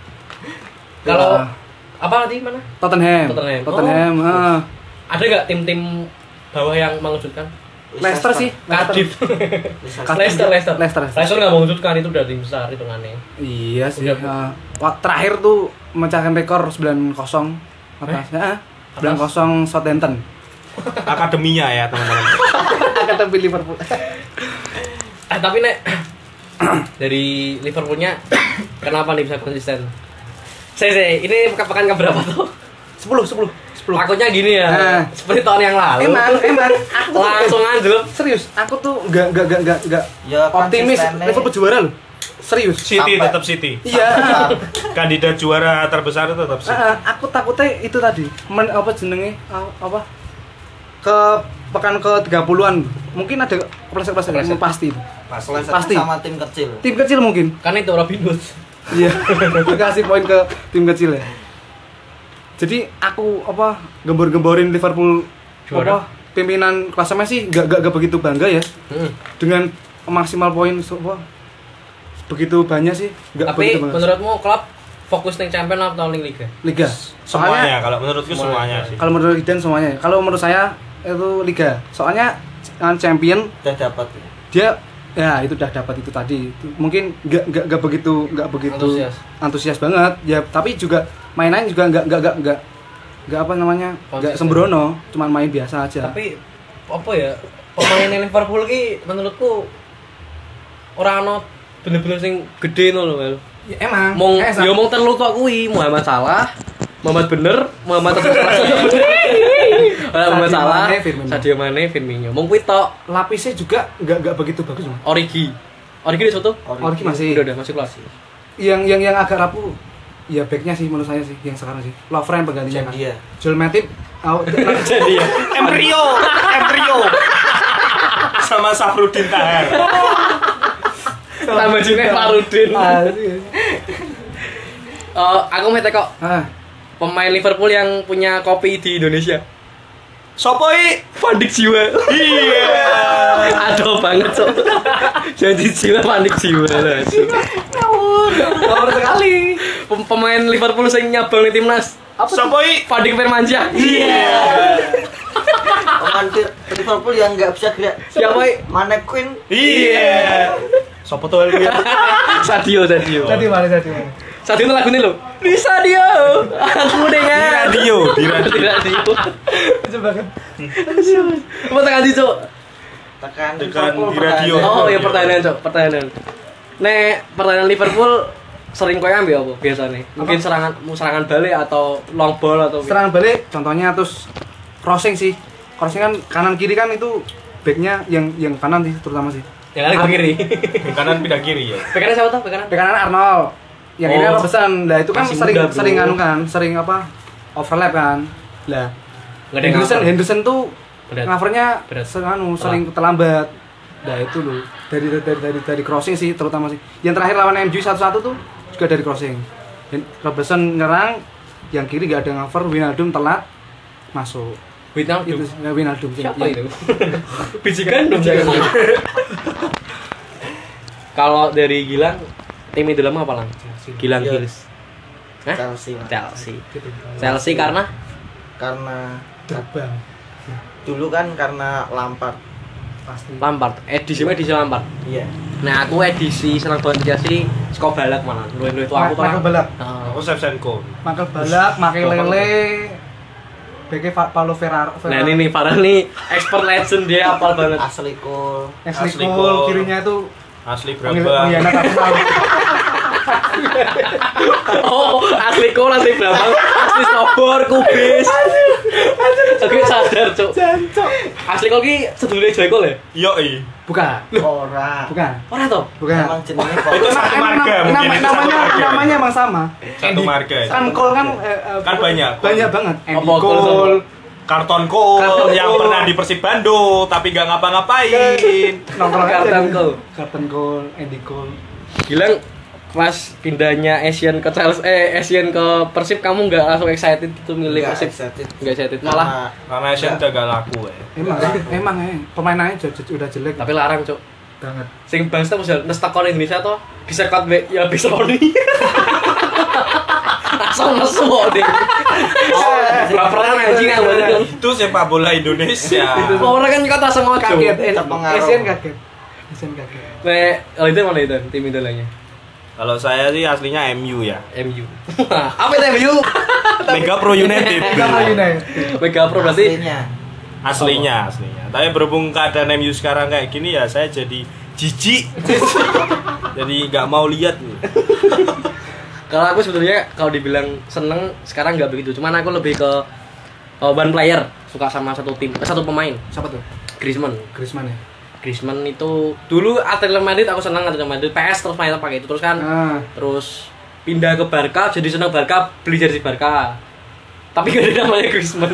Kalau Ya. apa tadi mana? Tottenham. Tottenham. Tottenham. Oh. ah. Ada nggak tim-tim bawah yang mengejutkan? Leicester sih. Cardiff. Leicester. Leicester, Leicester. Leicester. Leicester nggak mengejutkan, itu udah tim besar itu aneh. Iya sih. Udah. ah. Wah, terakhir tuh memecahkan rekor sembilan kosong atasnya. Ah, sembilan kosong Southampton. Akademinya ya, teman-teman. Kata Liverpool. Eh tapi nek dari Liverpoolnya kenapa nih bisa konsisten? Saya saya ini pekan pekan keberapa tuh? sepuluh, sepuluh, sepuluh. Takutnya gini ya, Nah. seperti tahun yang lalu. Emang, emang. Aku tuh- langsung anjlok. Serius, aku tuh nggak nggak nggak nggak nggak Ya, optimis konsistennya. Liverpool juara loh. Serius. City Sampai- tetap City. Iya. Kandidat juara terbesar itu tetap City. Ah, ah, aku takutnya itu tadi. Men, apa jenenge? Ah, apa? Ke pekan ke tiga puluhan. Mungkin ada kepleset-kepleset Kepleset. pasti. Leicester Pasti. sama tim kecil. Tim kecil mungkin. Kan itu Robin Hood. Iya. Kasih poin ke tim kecil ya. Jadi aku apa gembor-gemborin Liverpool Juara. apa pimpinan klasemen sih gak, gak, gak begitu bangga ya Hmm. dengan maksimal poin so- apa, begitu banyak sih gak Tapi begitu bangga. menurutmu klub fokus ning champion atau ning liga? Liga Semuanya kalau menurutku Semuanya. semuanya sih. kalau menurut Iden semuanya kalau menurut saya itu Liga soalnya uh, champion Udah dapat. dia ya itu udah dapat itu tadi Itu mungkin nggak nggak nggak begitu nggak begitu Antusias. antusias banget ya tapi juga mainan juga nggak nggak nggak nggak nggak apa namanya nggak Konsisten. sembrono cuman main biasa aja Tapi apa ya? Pemain Liverpool ki menurutku ora ono bener-bener sing gede no lho. Mel. ya, emang Mong Eh, yo mong terlalu kok kuwi Muhammad Salah, Muhammad Bener, Muhammad Salah. Muhammad Sadio Salah, Mane, Firmino. Sadio Mane, Firmino. Mong kuwi tok. lapisnya juga nggak nggak begitu bagus Mas. Origi. Origi di situ? Origi masih Udah udah masih kelas. yang yang yang agak rapuh ya backnya sih menurut saya sih yang sekarang sih Lovren penggantinya kan Dia. Joel Matip oh, Jadi ya. Embrio, Embrio. Sama Safrudin Tahar. Tambah jenenge Farudin. ah, sih. Eh, aku mau kok ah pemain Liverpool yang punya kopi di Indonesia. Sopo i? Pandik Jiwa. Iya. Aduh banget, Cok. Janji jiwa panik jiwa lah. Nomor sekali Pem- Pemain Liverpool sing nyabang di timnas. Apa? Sopo i? Fading Firmansyah. Iya. Pemain Liverpool yang nggak bisa gerak. Siapa i? Mane Queen. Iya. Sopo tuh ini? Sadio, Sadio. Tadi mana tadi mana? Sadio itu lagu ini loh. Di Sadio. Aku Di dengan radio, di radio. Di radio. Coba kan. Apa tekan di Cuk? Tekan Tekan Liverpool di radio. pertandingan. Oh, iya pertanyaan, Cuk. Pertanyaan. Nek pertandingan Liverpool sering koyo ambil apa biasanya? Mungkin Apa? serangan serangan balik atau long ball atau Serangan balik contohnya terus crossing sih. Crossing kan kanan kiri kan itu backnya yang yang kanan sih terutama sih. yang ada ke kiri. Di kanan pindah kiri ya. Bek kanan siapa tuh? Bek kanan? Back kanan Arnold. Yang ini Oh. Robertson. Lah itu kan Masih sering muda, bro. sering anu kan, sering apa? Overlap kan. Lah Nggak ada yang Henderson cover. Henderson tuh Berat. covernya Berat. anu sering terlambat. Nah itu loh dari dari dari dari crossing sih terutama sih. Yang terakhir lawan M U satu-satu tuh juga dari crossing. Hen- Robertson nyerang, yang kiri nggak ada cover, Wijnaldum telat masuk. Wijnaldum. Itu ya, Wijnaldum. Siapa Yang- itu? Biji gandum jangan. Kalau dari Gilang, tim idola apa lang? Gilang Iya. Hills. Hah? Chelsea. Mas. Chelsea. Chelsea karena Karena Terbang dulu kan karena Lampard. pasti. Lampard. Edisi edisi Lampard. Iya. Nah aku edisi senang banget Chelsea. Seko balak malah. Luwih-luwih tua aku tuh. Michael Balak, Heeh. Aku Shevchenko. Michael Balak, Makelele, Beke Paulo Ferraro. Nah ini nih Farah nih expert legend dia apal banget. Ashley Cole. Ashley Ashley Cole, Cole. kirinya itu Asli pengkhianat berapa? Arsenal. Oh, asli kok asli Brambang, asli Snowboard, kubis. Oke sadar, Cuk. Jancok. Asli kok ki sedulure Joyko lho. Yoi. Bukan. Ora. Bukan. Ora to? Bukan. Emang jenenge Itu kok. satu Emang marga nama- mungkin nama- itu satu namanya marga. namanya emang sama. Satu marga. Kan Cole kan eh, eh, Kan banyak. Banyak banget. Andy Apa Cole sama? Cole. Karton Cole Karton yang Cole. pernah di Persib Bandung tapi gak ngapa-ngapain. Nongkrong aja Carlton gitu. Cole. Carlton Cole, Andy Cole. Gilang pas pindahnya Asian ke Chelsea eh Asian ke Persib kamu nggak langsung excited gitu milih Nggak Persib? excited. Nggak excited malah. Karena Asian udah gak laku ya. Emang emang eh pemainannya j- j- udah jelek Tapi larang, Cuk. banget. Sing bangsa bisa nestakon Indonesia toh bisa cut be ya bisa Roni. Langsung nesu kok deh. Oh, baperan anjing aku kan. Itu sepak bola Indonesia. Orang kan kata sengaja. Kaget, eh, Terpengaruh. Asian kaget. Asian kaget. Nek, kalau itu mana itu tim idolanya? Kalau saya sih aslinya M U ya. M U. Apa itu M U? Mega Pro United. Sama United. Mega Pro berarti. Aslinya. Aslinya, aslinya. Tapi berhubung keadaan M U sekarang kayak gini ya saya jadi jijik. Jadi nggak mau lihat nih. Kalau aku sebetulnya kalau dibilang seneng sekarang nggak begitu. Cuman aku lebih ke uh, one player, suka sama satu tim, eh, satu pemain. Siapa tuh? Griezmann. Griezmann ya. Griezmann itu dulu Atletico Madrid aku senang Atletico Madrid P S terus main pakai itu terus kan Ah, terus pindah ke Barca jadi senang Barca beli jersey Barca tapi gak ada namanya Griezmann.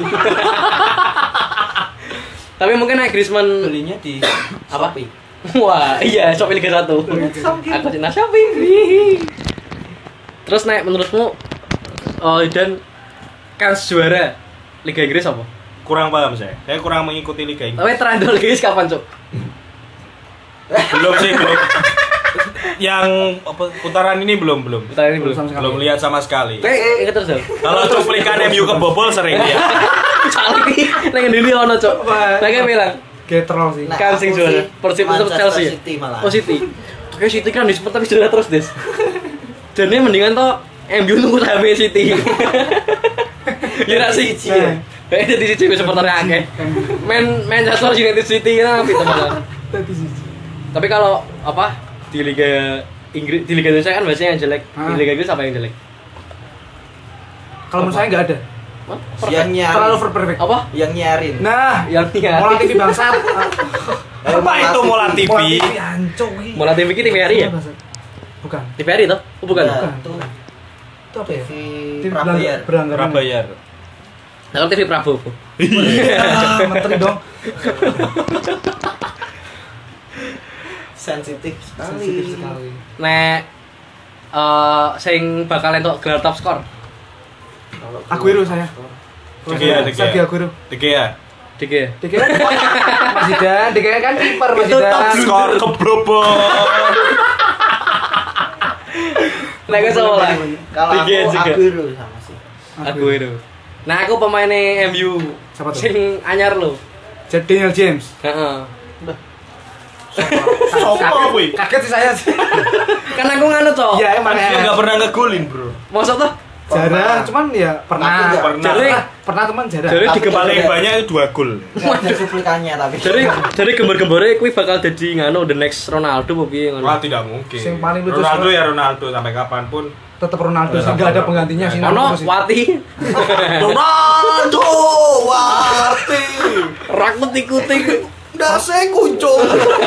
Tapi mungkin naik Griezmann Belinya di apa? Shopee. Wah iya Shopee Liga satu. Aku cinta Shopee. Hihi. Terus naik menurutmu oh, dan kan juara Liga Inggris apa? Kurang paham saya. Saya kurang mengikuti Liga Inggris. Tapi terakhir Liga Inggris kapan, Cuk? Belum sih, belum. Yang apa, putaran ini belum, belum. Terakhir ini belum. sama sekali. Belum lihat sama sekali. Kayak inget terus, Cuk. Kalau cuplikan M U kebobol sering ya. Salah iki ning ndi ono, Cuk. Lah kayak bilang Getrol sih. Nah, kan sing aku juara. sih Persib itu Manchester Chelsea. City malah. Oh City. Oke City kan di tapi juara terus, Des. Jadi mendingan toh M U nunggu sampai City. Ya ra sih. Nah. Kayak jadi City supporternya akeh. Main Manchester United City kan apa itu malah. Tadi sih. Tapi kalau apa di Liga Inggris di Liga Indonesia kan biasanya yang jelek. Di Ah. Liga Inggris apa yang jelek? Kalau menurut saya nggak ada. Hah? Yang Terlalu nyarin. over perfect. Apa? Yang nyarin. Nah, Yang tiga. Mola T V bangsat. Apa itu Mola T V? Mola T V ancok. ih. Mola T V ki T V R I ya? Bangsat. Bukan. T V R I toh? Oh bukan. Ya, Bukan. itu Itu apa ya? T V T V Prabayar. beranggaran. Prabayar. Nah, kalau T V Prabowo. Ah, menteri dong. Sensitif sekali. Sensitif sekali. Nek eh sing bakal entuk gelar top skor. Kalau Aguero saya. De Gea, De Gea. Sergio Aguero. De Gea. Dik ya. D K Mas Zidane, D K kan kiper Mas Itu top Zidane. skor keblobol. Nek gue sama lah. Kalau aku Tiga juga. Aguero sama sih. Aguero. Nah, aku pemainnya M U. Siapa tuh? Sing anyar lo. Jadi Daniel James. Heeh. Sopo kuwi? Kaget sih saya sih. Kan aku nganu toh. Iya emang Dia ya. enggak pernah ngegolin, Bro. Masa toh? Jarang, cuman ya pernah. Tapi nggak pernah. Jadi Pernah, pernah teman jarang. Jadi Tapi di Paling Ada- banyak itu dua gol. Nggak ada cuplikannya tapi. jadi jadi gembar-gembarnya kuwi bakal jadi nganu the next Ronaldo apa piye ngono. Wah, tidak mungkin. Sing paling lucu Ronaldo sekarang- ya Ronaldo sampai kapanpun. Tetap Ronaldo sih Tetap enggak ada Ronaldo. penggantinya sih. Ono Ronaldo sih. Wati. Ronaldo Wati. Rakut ikuti. Dase kuncung.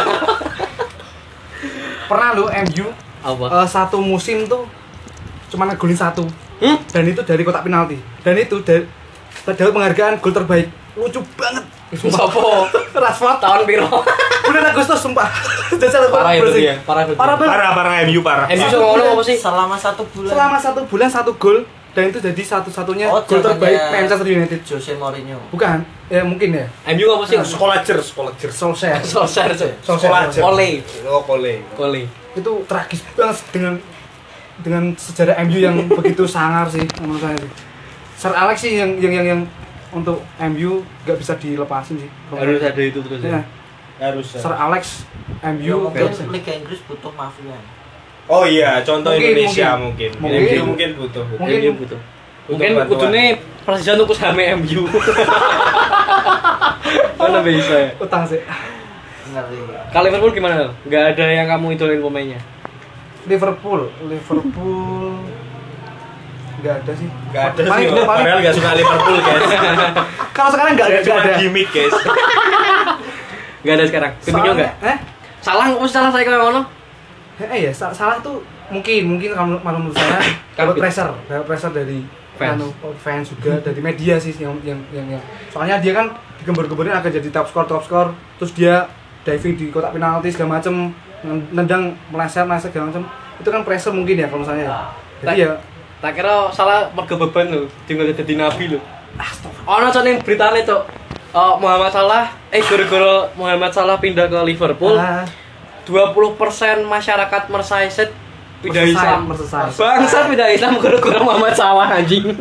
Pernah lo M U Apa? eh, satu musim tuh cuma ngegolin satu. Hmm? Dan itu dari kotak penalti. Dan itu dari dapat penghargaan gol terbaik. Lucu banget. Sopo? Rashford Tahun piro? bulan Agustus sumpah. Jajal Parah itu bersih. dia, parah itu. Parah banget. Parah parah M U parah. M U sama ngono apa sih? Selama satu bulan. Selama satu bulan satu gol dan itu jadi satu-satunya Oh, gol terbaik zamannya Manchester United. Jose Mourinho. Bukan, ya mungkin ya. M U apa sih? Sekolah jer, sekolah jer. Solskjaer. Solskjaer Cuk. Sekolah jer. Ole. Oh, Kole. Kole. Itu tragis banget dengan dengan sejarah M U yang begitu sangar sih menurut saya sih. Sir Alex sih yang yang yang, yang untuk M U nggak bisa dilepasin sih. Harus ada itu terus Ya. ya. Harus. Sir Alex M Ya, U mungkin nggak bisa. Liga Inggris butuh mafia. Oh iya, contoh Mungkin, Indonesia mungkin. mungkin. Mungkin. M U mungkin butuh. Mungkin. M U butuh. Mungkin bantuan. kudune Persija tuku saham M U. Mana bisa ya? Utang sih. Ngeri. Kalau Liverpool gimana? Enggak ada yang kamu idolain pemainnya. Liverpool, Liverpool nggak ada sih. Gak ada sih, Paling- paling- padahal gak suka Liverpool guys. Kalau sekarang nggak ada, nggak Cuma ada. gimmick guys. Enggak ada sekarang. Coutinho Soalnya- enggak? Eh? Salah kok salah saya kayak ngono. Eh ya, sa- salah tuh mungkin mungkin kalau kalau menurut saya dapat pressure, dapat pressure dari Fans. anu, fans juga dari media sih yang yang yang, yang. Soalnya dia kan digembar-gemborin akan jadi top score top score, terus dia diving di kotak penalti segala macem, nendang meleset meleset segala macem. Itu kan pressure mungkin ya kalau saya ya. Jadi ya Tak kira salah mergo beban lho, tinggal dadi nabi lho. Ono cok ning beritane cok. Oh, Muhammad Salah, eh gara-gara Muhammad Salah pindah ke Liverpool, ah, dua puluh persen masyarakat Merseyside pindah Merseyside, Islam. Merseyside. Bangsa pindah Islam gara-gara Muhammad Salah anjing.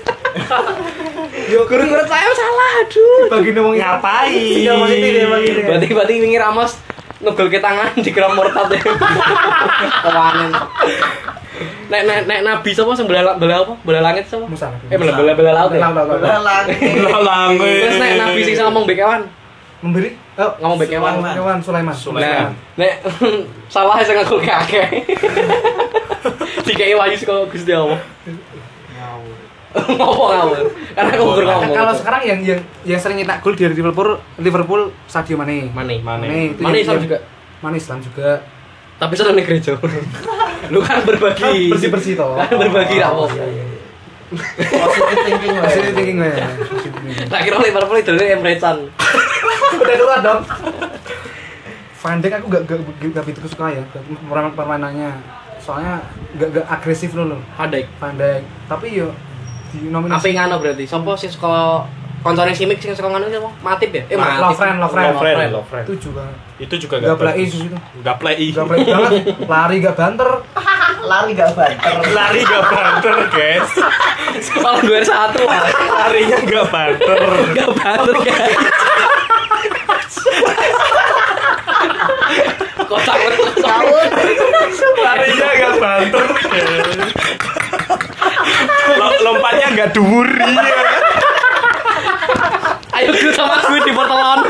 yo Gara-gara saya salah, aduh. bagi ngomong Ngapain? Iya maksudnya dia bagi dia. Berarti berarti wingi Ramos ngegol ke tangan di kerang murtad ya. Kawanan. Nek nek nek nabi sapa sing bela bela apa? Bela langit sapa? Musa. Eh bela bela bela laut ya. Laut, laut, laut. Lalang. Lalang Terus nek nabi sing ngomong mbek kewan, Memberi oh, ngomong mbek kewan. Sulaiman. Kawan Sulaiman. Nah, Sulaiman. nek salah sing ngegol ke akeh. Dikei wahyu saka Gusti Allah. Ngomong ngawur. Karena aku ngomong ngomong. Kalau sekarang yang yang yang sering nyetak gol di Liverpool Liverpool Sadio Mane. Mane. Mane. itu Mane yang- Islam yang- juga. Mane Islam juga. Tapi seneng ning gereja. Lu kan berbagi. Bersih-bersih toh. Kan berbagi ra apa. Positive thinking lah. Positive thinking gue. Positive thinking. Tak kira Liverpool itu Emre Can. Udah keluar dong. Van Dijk aku gak gak gak begitu suka ya permainan permainannya. Soalnya gak gak agresif loh loh. Hadek. Van Dijk. Tapi yo di Apa nominasi yang ngono berarti? Sopo sing suka koncone Simic sing suka ngono sapa? Matip ya? Eh Matip. Lovren, Lovren. Lovren, Lovren. itu juga Itu juga gak play bagus. itu. Gak play. Gak play banget. Lari gak banter. Lari gak banter. Lari gak banter guys. Kalau dua satu Larinya gak banter. enggak banget guys. Kocak banget. Larinya gak banter. Lo- Lompatnya gak dhuwur iya. Ayo gue sama gue di portalon.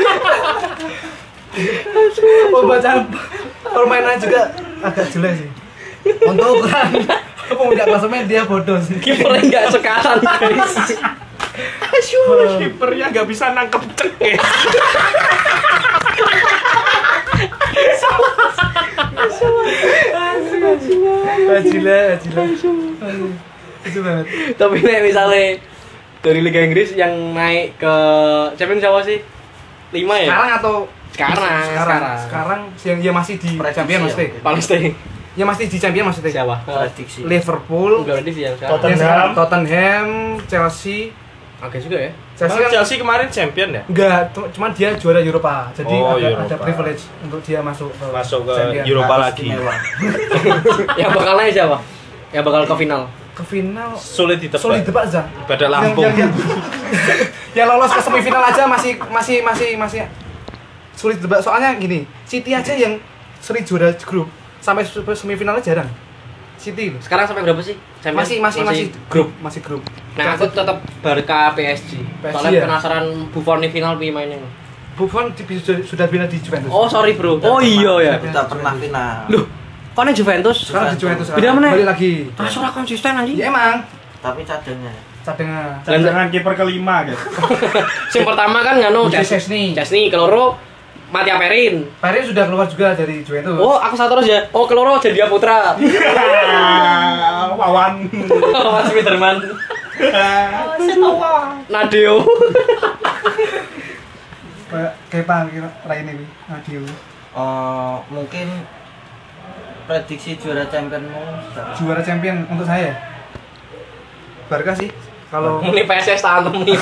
Pembacaan permainan juga agak jelek sih. Untuk ukuran pemuncak klasemen dia bodoh sih. Kiper enggak sekaran guys. Asyuh, kipernya gak bisa nangkep cek guys. Ajila, ajila. Itu banget. Tapi nek misalnya dari Liga Inggris yang naik ke Champions siapa sih? lima ya? Sekarang atau Sekarang, sekarang, sekarang yang ya masih di Prediksi champion ya, maksudnya. mungkin. Palestina. Ya masih di champion maksudnya. Siapa? Prediksi. Liverpool, Enggak ada sih yang sekarang. Tottenham. yang sekarang Tottenham, Chelsea. Oke juga ya. Chelsea Emang kan Chelsea kemarin champion ya? enggak, cu- cuma dia juara Eropa. Jadi Oh, ada, Eropa. ada privilege untuk dia masuk ke Masuk ke champion. Eropa Harus lagi. istimewa. Yang bakal naik siapa? yang bakal ke final? Ke final Sulit ditebak. sulit ditebak aja. Pada Yang, Lampung. yang, yang, yang lolos ke semifinal aja masih masih masih masih sulit ditebak. Soalnya gini, City aja yang sering juara grup sampai semifinalnya jarang. City loh. Sekarang sampai berapa sih? Champions? Masih masih masih grup. masih grup. Nah, aku tetap Barca P S G. P S G Soalnya ya? penasaran Buffon di final piye mainnya. Buffon di- sudah sudah bina di Juventus. Oh, sorry, Bro. Oh iya ya. Kita pernah final. Loh, kok nih Juventus? Sekarang di Juventus. Beda sekarang. mana? Balik lagi. Ah, ora konsisten anjing. Ya emang Tapi cadangan. cadangan. Cadangan kiper kelima guys. Sing pertama kan nganu Uji Szczesny. Szczesny, keloro Mattia Perin. Perin sudah keluar juga dari Juventus. Oh, aku satu terus ya. Oh, keloro jadi Putra. Wawan. Mas Spiderman. Nadeo. Kayak Kepa kira lain ini. Adio. Oh, mungkin prediksi juara championmu siapa? Juara champion untuk saya. Barca sih. Kalau Muni P S S tantem nih.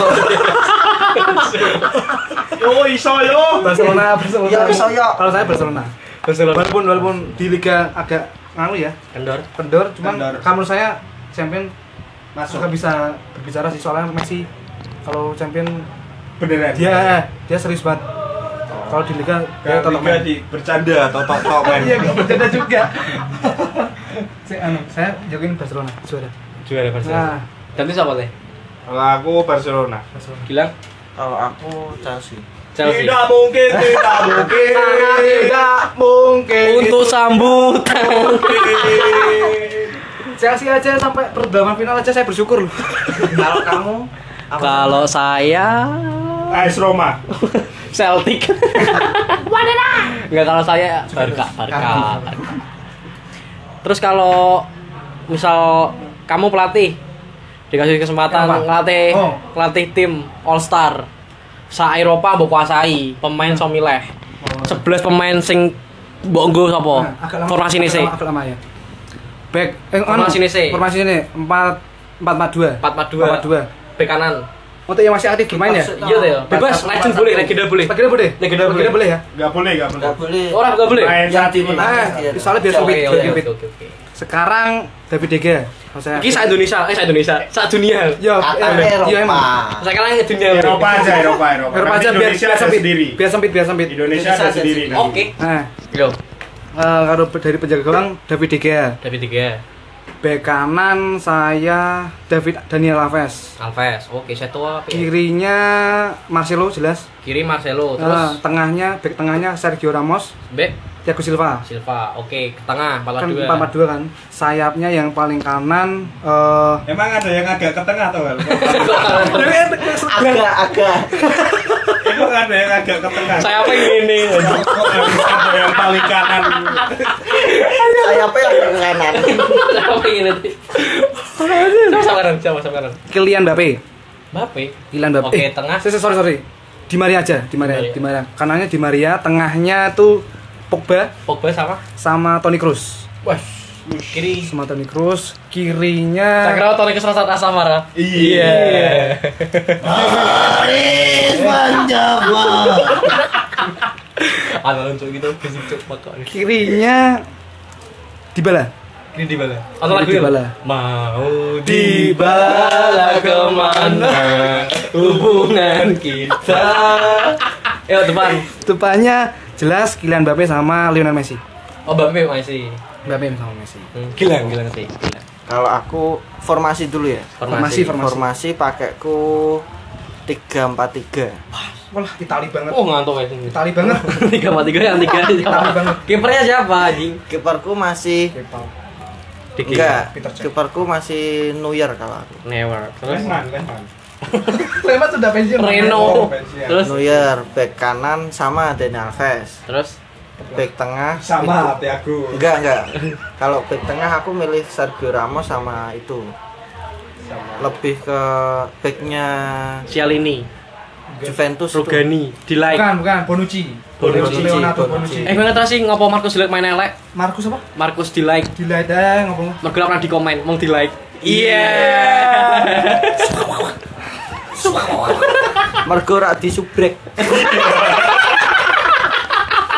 Yo iso yo. Barcelona, Barcelona. Ya, iso, yo. Kalau saya Barcelona. Barcelona. Walaupun walaupun di liga agak nganu ya, Kendor. kendor, cuman Kendor. kalau menurut saya champion Masuk. nggak bisa berbicara sih soalnya Messi kalau champion Beneran. dia dia serius banget. Kalau di liga dia Kalau tetap Liga main. di bercanda atau tok-tok main. Iya, nggak bercanda juga. saya anu, saya jokin Barcelona juara. Juara Barcelona. Nah, Ganti siapa teh? Kalau aku Barcelona. Barcelona. Gilang Kalau aku Chelsea. Chelsea. Tidak mungkin, tidak mungkin. Tidak mungkin. Untuk sambutan. Chelsea aja sampai perdagangan final aja saya bersyukur loh. Kalau kamu apa? Kalau saya A S Roma. Celtic. Enggak, kalau saya Barca, Barca. Barca. Terus kalau misal kamu pelatih dikasih kesempatan Apa? ngelatih Oh. ngelatih tim All Star sa Eropa mbok kuasai pemain so milih sebelas pemain sing mbok nggo sapa Nah, agak lama- formasi ini agak sih lama- agak lama ya. Back eh Formasi ini sih. Formasi ini empat empat empat dua. empat empat dua empat empat dua. bek kanan. Untuk yang masih aktif bermain ya? Iya deh, bebas, Empat- legend empat- boleh, satu. legenda boleh. Legenda boleh? Legenda boleh. Legenda boleh ya? Enggak boleh, enggak boleh. Nggak boleh. Orang enggak boleh. Main Yang saat ini. dimenangkan Nah, dia. soalnya biar sempit, Oke, biar oke, sempit. oke, oke, oke. Sekarang David De Gea. Kalau saya. Iki sa Indonesia, eh sa Indonesia, sa dunia. Yo, Qatar eh, Eropa. iya emang. Sekarang ke dunia. Eropa aja, Eropa, Eropa. Eropa Nanti aja biar Indonesia biar ada sempit. sendiri. Biar sempit, biar sempit. Indonesia ada Indonesia sendiri. ada nanti. Oke. Nah, Yo, eh, kalau dari penjaga gawang David De Gea. David De Gea, Bek kanan saya David Daniel Alves. Alves. Oke, saya tua. Kirinya Marcelo jelas. Kiri Marcelo, Eh, terus tengahnya bek tengahnya Sergio Ramos, bek Thiago Silva. Silva. Oke, ke tengah empat Kan dua. empat empat dua kan. Sayapnya yang paling kanan eh Emang ada yang agak ke tengah tuh, Hal? Agak-agak. Emang ada yang agak ke tengah. Saya apa ini? Kok harus ada yang paling kanan? Saya apa yang ke kanan? Saya apa ini? Siapa sama kanan? Siapa sama kanan? Kylian Mbappe. Mbappe. Kylian Mbappe. Oke, Eh, tengah. Sorry, sorry, sorry. Di Maria aja, di Maria, Di Maria. di Maria. Kanannya di Maria, tengahnya tuh Pogba Pogba sama? sama Toni Kroos. Wah, kiri. Sama Toni Kroos, Saya kirinya kira Toni Kroos rasa Asamara. Iya. Paris mencoba. Ada lucu gitu, fisik cuk pokoknya. kirinya Dybala. Ini di bala. Atau lagu Dybala. Mau Dybala kemana hubungan kita? Ayo depan. Depannya jelas Kylian Mbappe sama Lionel Messi. Oh Mbappe masih. Mbappe sama Messi. Hmm, Gilang, gilang sih. Gilang. Kalau aku formasi dulu ya. Formasi, formasi. Formasi pakaiku tiga empat tiga. Wah, Itali banget. Oh ngantuk ya sini. Itali banget. Tiga sama tiga yang tiga. Itali banget. Kipernya siapa anjing? Kiperku masih Diki. enggak. Peter Cech. Kiperku masih Neuer kalau aku. Never. Terus Lehman, Lehman. Lewat sudah pensiun. Reno. Terus Neuer, back kanan sama Daniel Alves. terus Back tengah Sama itu- Thiago. Enggak, enggak. Kalau back tengah aku milih Sergio Ramos sama itu. Lebih ke backnya Cialini, Juventus itu. Rugani, di like. Bukan, bukan, Bonucci. Bonucci. Leonardo Bonucci. Bonucci. Eh mana terus sih ngopo Marcus di like main elek? Marcus apa? Marcus di like. Dilihat aja ngomong. Mergo pernah di komen, mau di like. Iya. Mergo rak disubrek.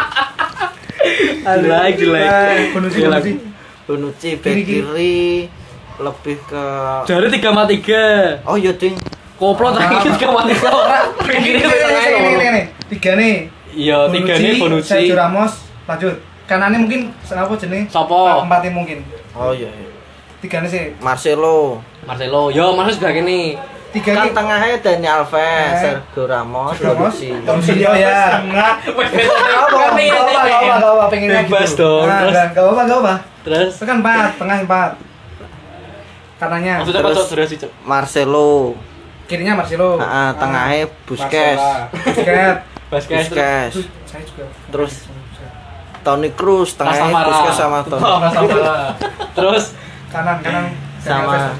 Di like, di like. Bonucci, Di like. Bonucci. Bonucci back Kiri, kiri. kiri lebih ke Dari tiga sama tiga. oh iya ding Koplo tadi tiga sama tiga orang. Ini ini ini ini tiga nih. Iya, tiga nih Bonucci. Sergio Ramos, lanjut. Kanannya mungkin kenapa jenenge? Sopo? Empatnya mungkin. oh iya, iya. Tiga nih sih. Marcelo Marcelo. Yo, Marcelo juga gini. Tiga kan nih. tengahnya Dani Alves, Eh. Sergio Ramos, Ramos, Bonucci. Bonucci oh ya. Tengah. Gak apa, gak apa, gak apa, pengennya gitu. Bebas dong. Nah, Terus? gak gak apa, gak apa. Terus Itu kan empat, tengah empat. Kanannya, maksudnya apa Terus- cok durasi cok? Marcelo. kirinya Marcelo. Heeh, tengahnya Busquets. Marcela. Busquets. Basket. Busquets. Tuh, saya juga. Terus Toni Kroos, tengahnya Rastamara. Busquets sama Toni. Oh, Rastamara. Terus Kanan, kanan. Sama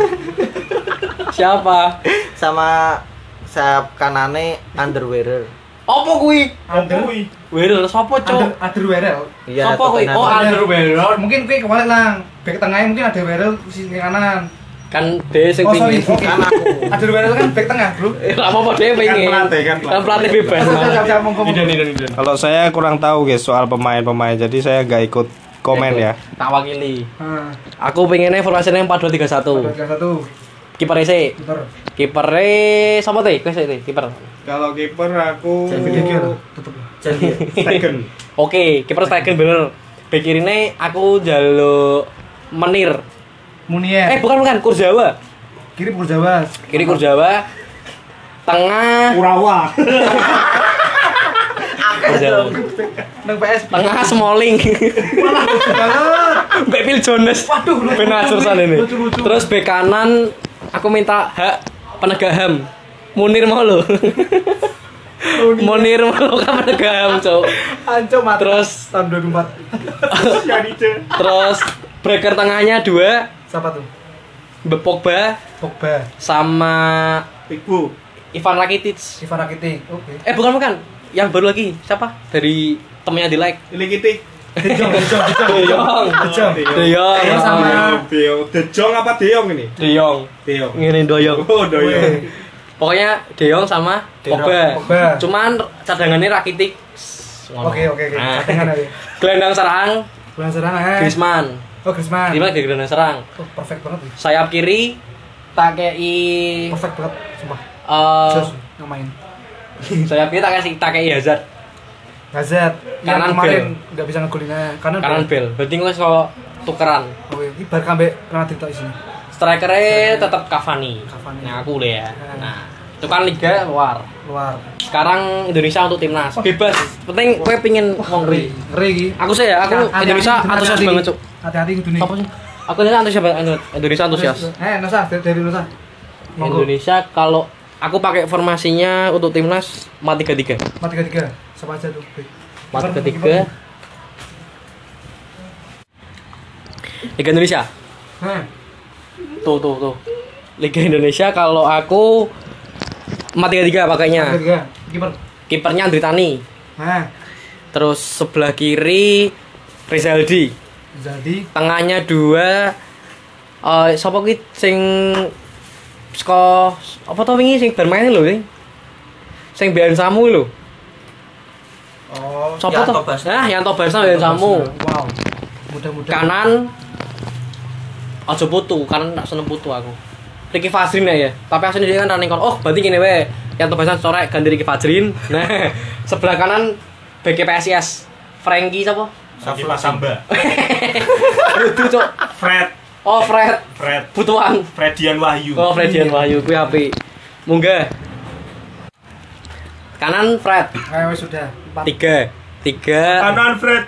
siapa? sama sayap kanane Underwearer. Opo kuwi? Under, Kuwi. Weird, sopo under, cok? under Werel. Iya, Sopo kuwi? Tottenham. Oh, Underwearer. Mungkin kuwi kebalik lang. Back tengahnya mungkin ada Werel sisi kanan. Kan dia sing Oh sorry, pingin. oke. Kan aku. Ada Werel kan back tengah, bro. Eh, apa apa dia pengen? Kan pelatih, kan Kan pelatih bebas. Siap, siap, siap, monggo, monggo. Idan, idan, idan. Kalau saya kurang tahu guys soal pemain-pemain, jadi saya nggak ikut komen ya. Tak wakili. Nah, Aku pengennya formasinya empat dua tiga satu. tiga satu. Kiper sih. Putar. Kiper sama teh, kau sih kiper. Kalau kiper aku Tutup. Jadi Stegen. Oke, kiper Stegen bener. Bek kirine aku jaluk Menir. Munier. Eh bukan bukan Kurzawa. Kiri Jawa. Kiri Kurzawa. Tengah Urawa. Kurzawa. Nang P S. Tengah Smalling. Banget. Bek Phil Jones. Waduh, lucu, Benar lucu, sana ini. lucu, lucu. Terus bek kanan aku minta hak penegak H A M. Munir mau lo. Munir mau lo kan penegak H A M, Cok. Anco mati. Terus tahun dua ribu empat. terus breaker tengahnya dua, Siapa tuh? Mbak Pogba Pogba. sama Ibu. Ivan Rakitic. Ivan Rakitic. Oke. Eh bukan bukan, yang baru lagi siapa? Dari temennya di like. Ini kita. De Jong, De Jong, De Jong. De Jong. De Jong. De Jong Eh, sama- Deong. Dejong apa Deong ini? De Jong. Deong. Ngene doyong. Oh, Doyong. Pokoknya De Jong sama De Jong, Pogba. Pogba. Cuman cadangannya Rakitic. Oke, oke, oke. Nah. Cadangan aja. Gelandang serang Bulan serang eh. Griezmann. Oh, Griezmann. Griezmann di gelandang serang. Oh, perfect banget. ya. Sayap kiri tak kei Perfect banget, sumpah. eh Jos yang main. sayap kiri tak kasih tak kei Hazard. Hazard yang Kanan kemarin nggak bisa ngegolinnya. Kanan. Kanan bel. Berarti wis kok tukeran. Oke, ini bar kambe Real Madrid tok isine. Strikernya tetap Cavani. Cavani. Nah, aku deh ya. Nah, itu kan liga luar. Luar. Sekarang Indonesia untuk timnas. Bebas. Penting kowe pingin wong Ngeri, ngeri. ngeri iki. Aku sih ya, aku Hati-hati, Indonesia hati-hati. antusias banget, Cuk. Hati-hati kudu nih. Apa sih? Aku Indonesia antusias banget. Indonesia antusias. Eh, Nusa, dari, dari Nusa. Monggo. Indonesia kalau aku pakai formasinya untuk timnas empat tiga tiga. empat tiga tiga. Siapa aja tuh? empat tiga tiga. Liga Indonesia. Heh. Tuh tuh tuh. Liga Indonesia kalau aku empat tiga tiga pakainya. empat tiga tiga. Kiper. Kipernya Andri Tani. Nah, Terus sebelah kiri Rizaldi. jadi Tengahnya dua eh sapa kuwi sing saka apa to wingi sing bermain lho sing sing Bian Samu lho. oh, Sapa Yanto to? Basna. Nah, Yanto Basna Bian Samu. Wow. Mudah-mudahan. Kanan aja putu, kanan tak seneng putu aku. Ricky Fajrin ya, tapi asline dia kan running kon. Oh, berarti gini wae. Yanto Basna corek ganti Ricky Fajrin. Nah, sebelah kanan B K P S I S. Frankie sapa? Saki Samba. Itu, Cuk. Fred. Oh, Fred. Fred. Butuhan. Fredian Wahyu. Oh, Fredian Wahyu kuwi apik. Munggah. Kanan Fred. Eh, wes sudah. Empat. Tiga. Tiga. Kanan Fred.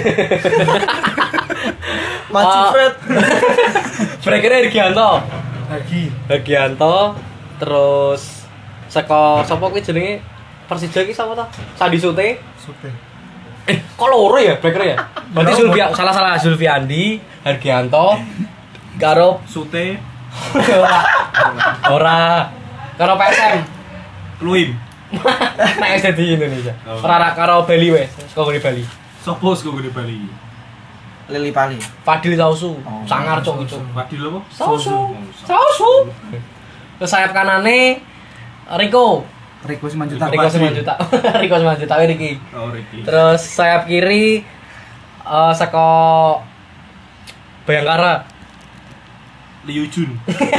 Maju Oh. Fred. Breakernya Hergianto. Lagi. Hergianto. Terus saka sapa kuwi jenenge Persija iki sapa to? Sandi Sute. Sudah. Eh, kok loro ya breakernya ya? Berarti Loro, Zulfi salah-salah Zulfiandi, Hergianto, karo Sute. ora. Ora. Karo P S M. Luim. Nek S D di Indonesia. Oh. Ora karo Bali wes, saka di Bali. Sopo sing di Bali? Lili Pali. Fadil Sausu, Oh, sangar cok itu. Fadil apa? Sausu. Sausu. Terus sayap kanane Rico. Rico sembilan juta. Rico sembilan juta. Rico sembilan juta we Riki. Oh, Ricky. Terus sayap kiri eh saka Bayangkara. Liu Jun.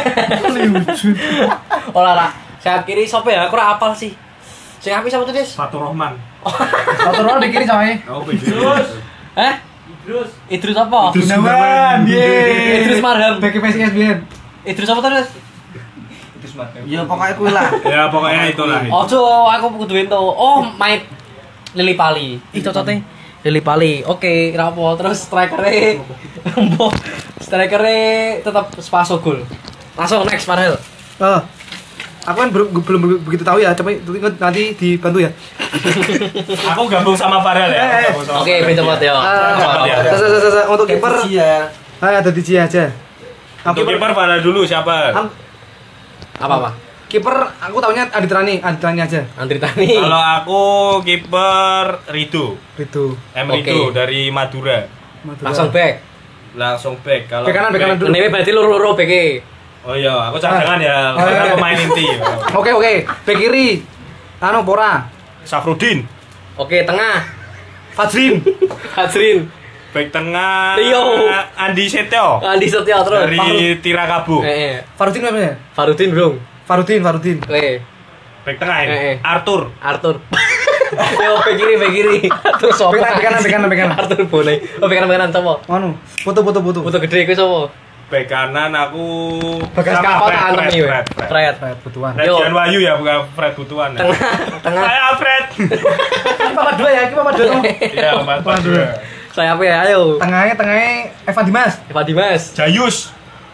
Olah ra. Sayap kiri sapa ya? Aku ora apal sih. Sing apik sapa tuh, Des? Fatur Rahman. Foto roll di kiri coy. Oh, Idrus. Hah? Idrus. Idrus apa? Idrus Gunawan. Yeay. Idrus Marham. Bagi P S I S B N. Idrus apa tuh, Des? Ya pokoknya kuwi lah. Ya pokoknya itulah. Ojo, aku kudu ento. Oh, main Lili Pali. Ih, cocote. Lili Pali. Oke, rapo. Terus striker-e mbok striker-e tetap Spaso gol. Langsung next Farhel. Oh. Aku kan belum belum begitu tahu ya, coba nanti dibantu ya. Aku gabung sama Farel ya. Eh, Gabung sama Oke, Farel. pintu mati ya. Cepet ya. Sa- sa- sa- sa- Untuk kiper, ya. ah ada di Cia aja. Untuk kiper Farel dulu siapa? Am- Apa-apa? Kiper aku taunya Adit Rani, Adit Rani aja. Andri Tani. Kalau aku kiper Rido. Itu. M Oke. Rido dari Madura. Langsung back. Langsung back. Kalau Bek kanan, bek kanan dulu. Ini berarti loro-loro beke. Oh iya, aku cadangan ya. Oh, iya. Karena pemain inti. Oke oke, bek kiri. Anu Pora, Safrudin. Oke, tengah. Fajrin. Hazrin. Back tengah Rio. Andi Setio Andi Setia terus. dari Tirakabo. Eh, eh. Farudin apa ya? Farudin, Bro. Farudin, Farudin. Oke. Back tengah ini Eh, eh. Arthur. Arthur. Yo, bek kiri, bek kiri. Terus sopo? Bek kanan, bek kanan, bek kanan, bek kanan. Arthur boleh. Oh, bek kanan, bek kanan sopo? Anu, foto foto foto. Foto gede iku sopo? Back kanan aku Bagas sama kapal Fred, antem Fred, iki. Fred, Fred. Fred. Fred Butuan. Fred Yo. Jian Wahyu ya, bukan Fred Butuan. Ya. Tengah, tengah. Saya Fred. Ini papa dua ya, ini papa dua tuh. Iya, Pak. Pak. Waduh. Saya apa ya? Ayo. Tengahnya tengahnya Evan Dimas. Eva Dimas. Jayus.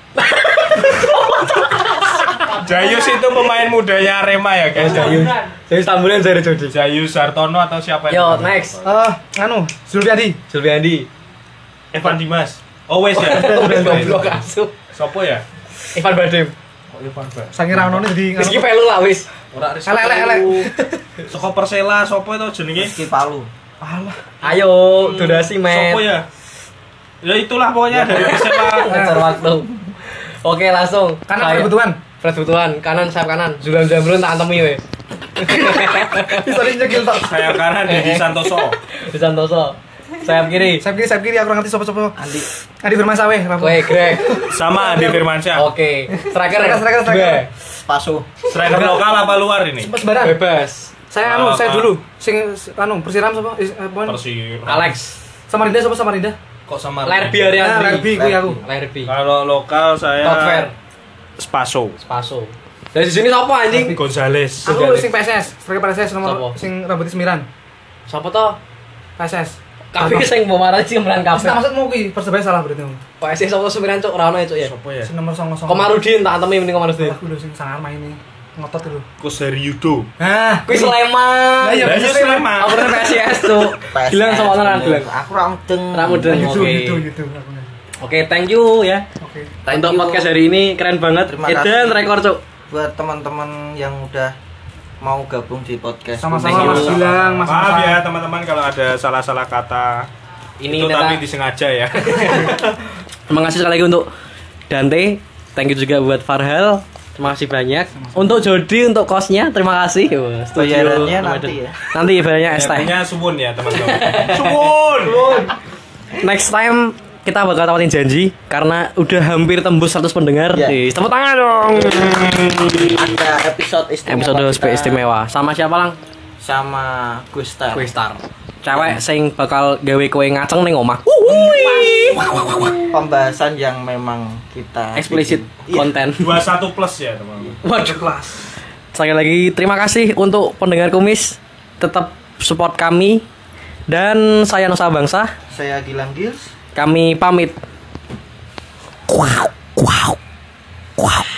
Jayus itu pemain mudanya Arema ya, guys. Jayus. Jayus Tambulan Zaire Jodi. Jayus Sartono atau siapa Yo, itu? next. Eh, anu, Zulfiandi. Sulfiandi. Evan Dimas. Oh, wes ya. Wes goblok asuh. Sopo ya? Ivan Badim. Oh, Evan Dimas. Sange Rano jadi Wis iki pelu lah wis. Ora Elek, elek, elek. Soko Persela, sopo itu jenenge? Rizky Palu. Alah. Ayo, donasi men. Sopo ya? Ya itulah pokoknya dari Persela. Ngejar waktu. Oke, langsung. Kanan Saya- kebutuhan. Fred Butuhan, kanan sayap kanan. Zulan Zamrun tak antemi we. Bisa nyekil tok. Saya kanan Dedi Santoso. Di Santoso. Sayap kiri. Sayap kiri, sayap kiri aku ngerti sopo-sopo. Andi. Adi Firman Saweh, Rafa. Oke, Greg. Sama Adi Firmansyah. Oke. Striker. Striker, striker, striker. Dua. Pasu. Striker lokal apa luar ini? Sembaran. Bebas. Saya anu, Ah, saya ah. dulu. Sing anu, Persiram sapa? Eh, apaan? Persir. Alex. Samarinda sapa Samarinda? Kok sama Lerby Ah, Ariandri. Lerby kuwi aku. Lerby. Kalau lokal saya Top fair. Spaso. Spaso. Dari sini siapa anjing? Gonzales. Aku Sudah, sing P S S, striker P S S Sapa? nomor sing rambutnya semiran. Siapa toh? P S S. Kabeh sing pemarah sih kemarin Wis tak kabeh. maksudmu kuwi Persebaya salah berarti. P S S sapa semiran cuk ora ono ya cuk ya. Sopo ya? Sing nomor nol nol. Komarudin tak antemi mending Komarudin. Aku lho sing sangar main ini. Ngotot itu. Kuseri Yudo. Nah, Kuwi Sleman. Lah iya, Lah, iya, Sleman. Aku pernah P S S tuh. Bilang sama orang bilang. Aku ra mudeng. Ramudeng. gitu Oke. gitu gitu aku. Oke, thank you ya. Oke. Thank Untuk you. podcast hari ini keren banget. Terima Edan kasih. rekor cuk. Buat teman-teman yang udah mau gabung di podcast. Sama-sama Thank you. Mas Gilang, Mas Maaf Hasan. ya teman-teman kalau ada salah-salah kata. Ini itu ternyata- tapi disengaja ya. Terima kasih sekali lagi untuk Dante. Thank you juga buat Farhel. Terima kasih banyak. Untuk Jody untuk kosnya terima kasih. Wah, setuju. Bayarannya nanti ya. Nanti bayarannya es teh. Biasanya suwun ya teman-teman. Suwun. Next time kita bakal tawatin janji karena udah hampir tembus seratus pendengar. Ya. Ih, tepuk tangan dong. Ada episode istimewa. Episode kita istimewa sama siapa lang? sama Gusta. Kue Star. Cewek sing bakal gawe kue ngaceng ning omah. Pembahasan yang memang kita Eksplisit bikin. Iya. konten. dua puluh satu plus ya teman-teman. Waduh. Sekali lagi terima kasih untuk pendengar kumis. Tetap support kami. Dan saya Nusa Bangsa. Saya Gilang Gils. Kami pamit. Wow.